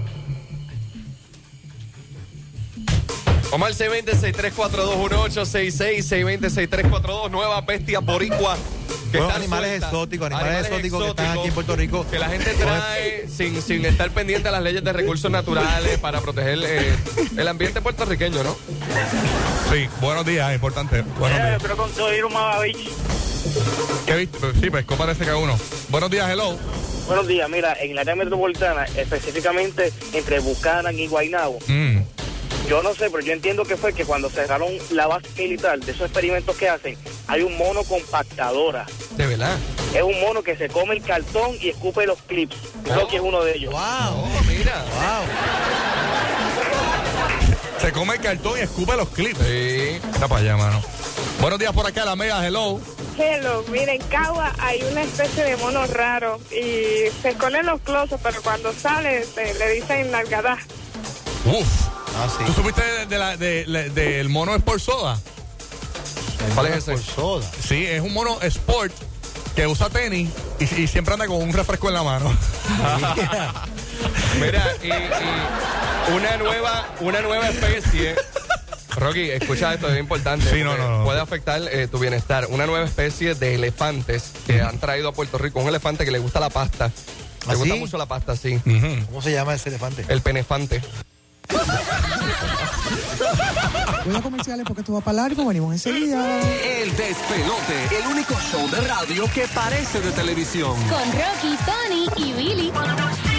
Vamos al seis dos cero, seis tres cuatro dos, uno ocho seis seis, seis dos cero, seis tres cuatro dos, nueva bestia boricua. Que
Nuevos
están
animales
sueltas.
exóticos, animales exóticos que están aquí en Puerto Rico.
Que la gente trae sin, sin estar pendiente a las leyes de recursos naturales para proteger eh, el ambiente puertorriqueño, ¿no?
Sí, buenos días, importante. Buenos
Mira, yo
días.
quiero construir un mamabicho.
¿Qué viste? Sí, pescó parece que uno. Buenos días, hello.
Buenos días, mira, en el área metropolitana, específicamente entre Buchanan y Guaynabo,
Mm.
yo no sé, pero yo entiendo que fue que cuando cerraron la base militar, de esos experimentos que hacen, hay un mono compactadora.
De verdad.
Es un mono que se come el cartón y escupe los clips. Creo que es uno de ellos.
¡Wow!
Oh, mira.
¡Wow!
Se come el cartón y escupe los clips.
Sí.
Está para allá, mano. Buenos días por acá, la Mega, hello.
Hello, mira, en Cagua hay una especie de mono raro y se esconde en los closets, pero cuando sale eh, le dicen nalgadas.
Uf.
Ah, sí.
¿Tú supiste de, de la, de, de- del mono Sport Soda?
¿Cuál es ese?
Por soda.
Sí, es un mono Sport que usa tenis y, y siempre anda con un refresco en la mano.
Mira, y, y una nueva, una nueva especie Rocky, escucha esto, es importante.
Sí, no, no, no.
Puede afectar eh, tu bienestar. Una nueva especie de elefantes que han traído a Puerto Rico. Un elefante que le gusta la pasta. Le
¿Ah,
gusta
sí?
mucho la pasta, sí.
Ujú.
¿Cómo se llama ese elefante?
El penefante.
Voy a comerciales porque esto va para largo, venimos enseguida.
El Despelote, el único show de radio que parece de televisión.
Con Rocky, Tony y Billy.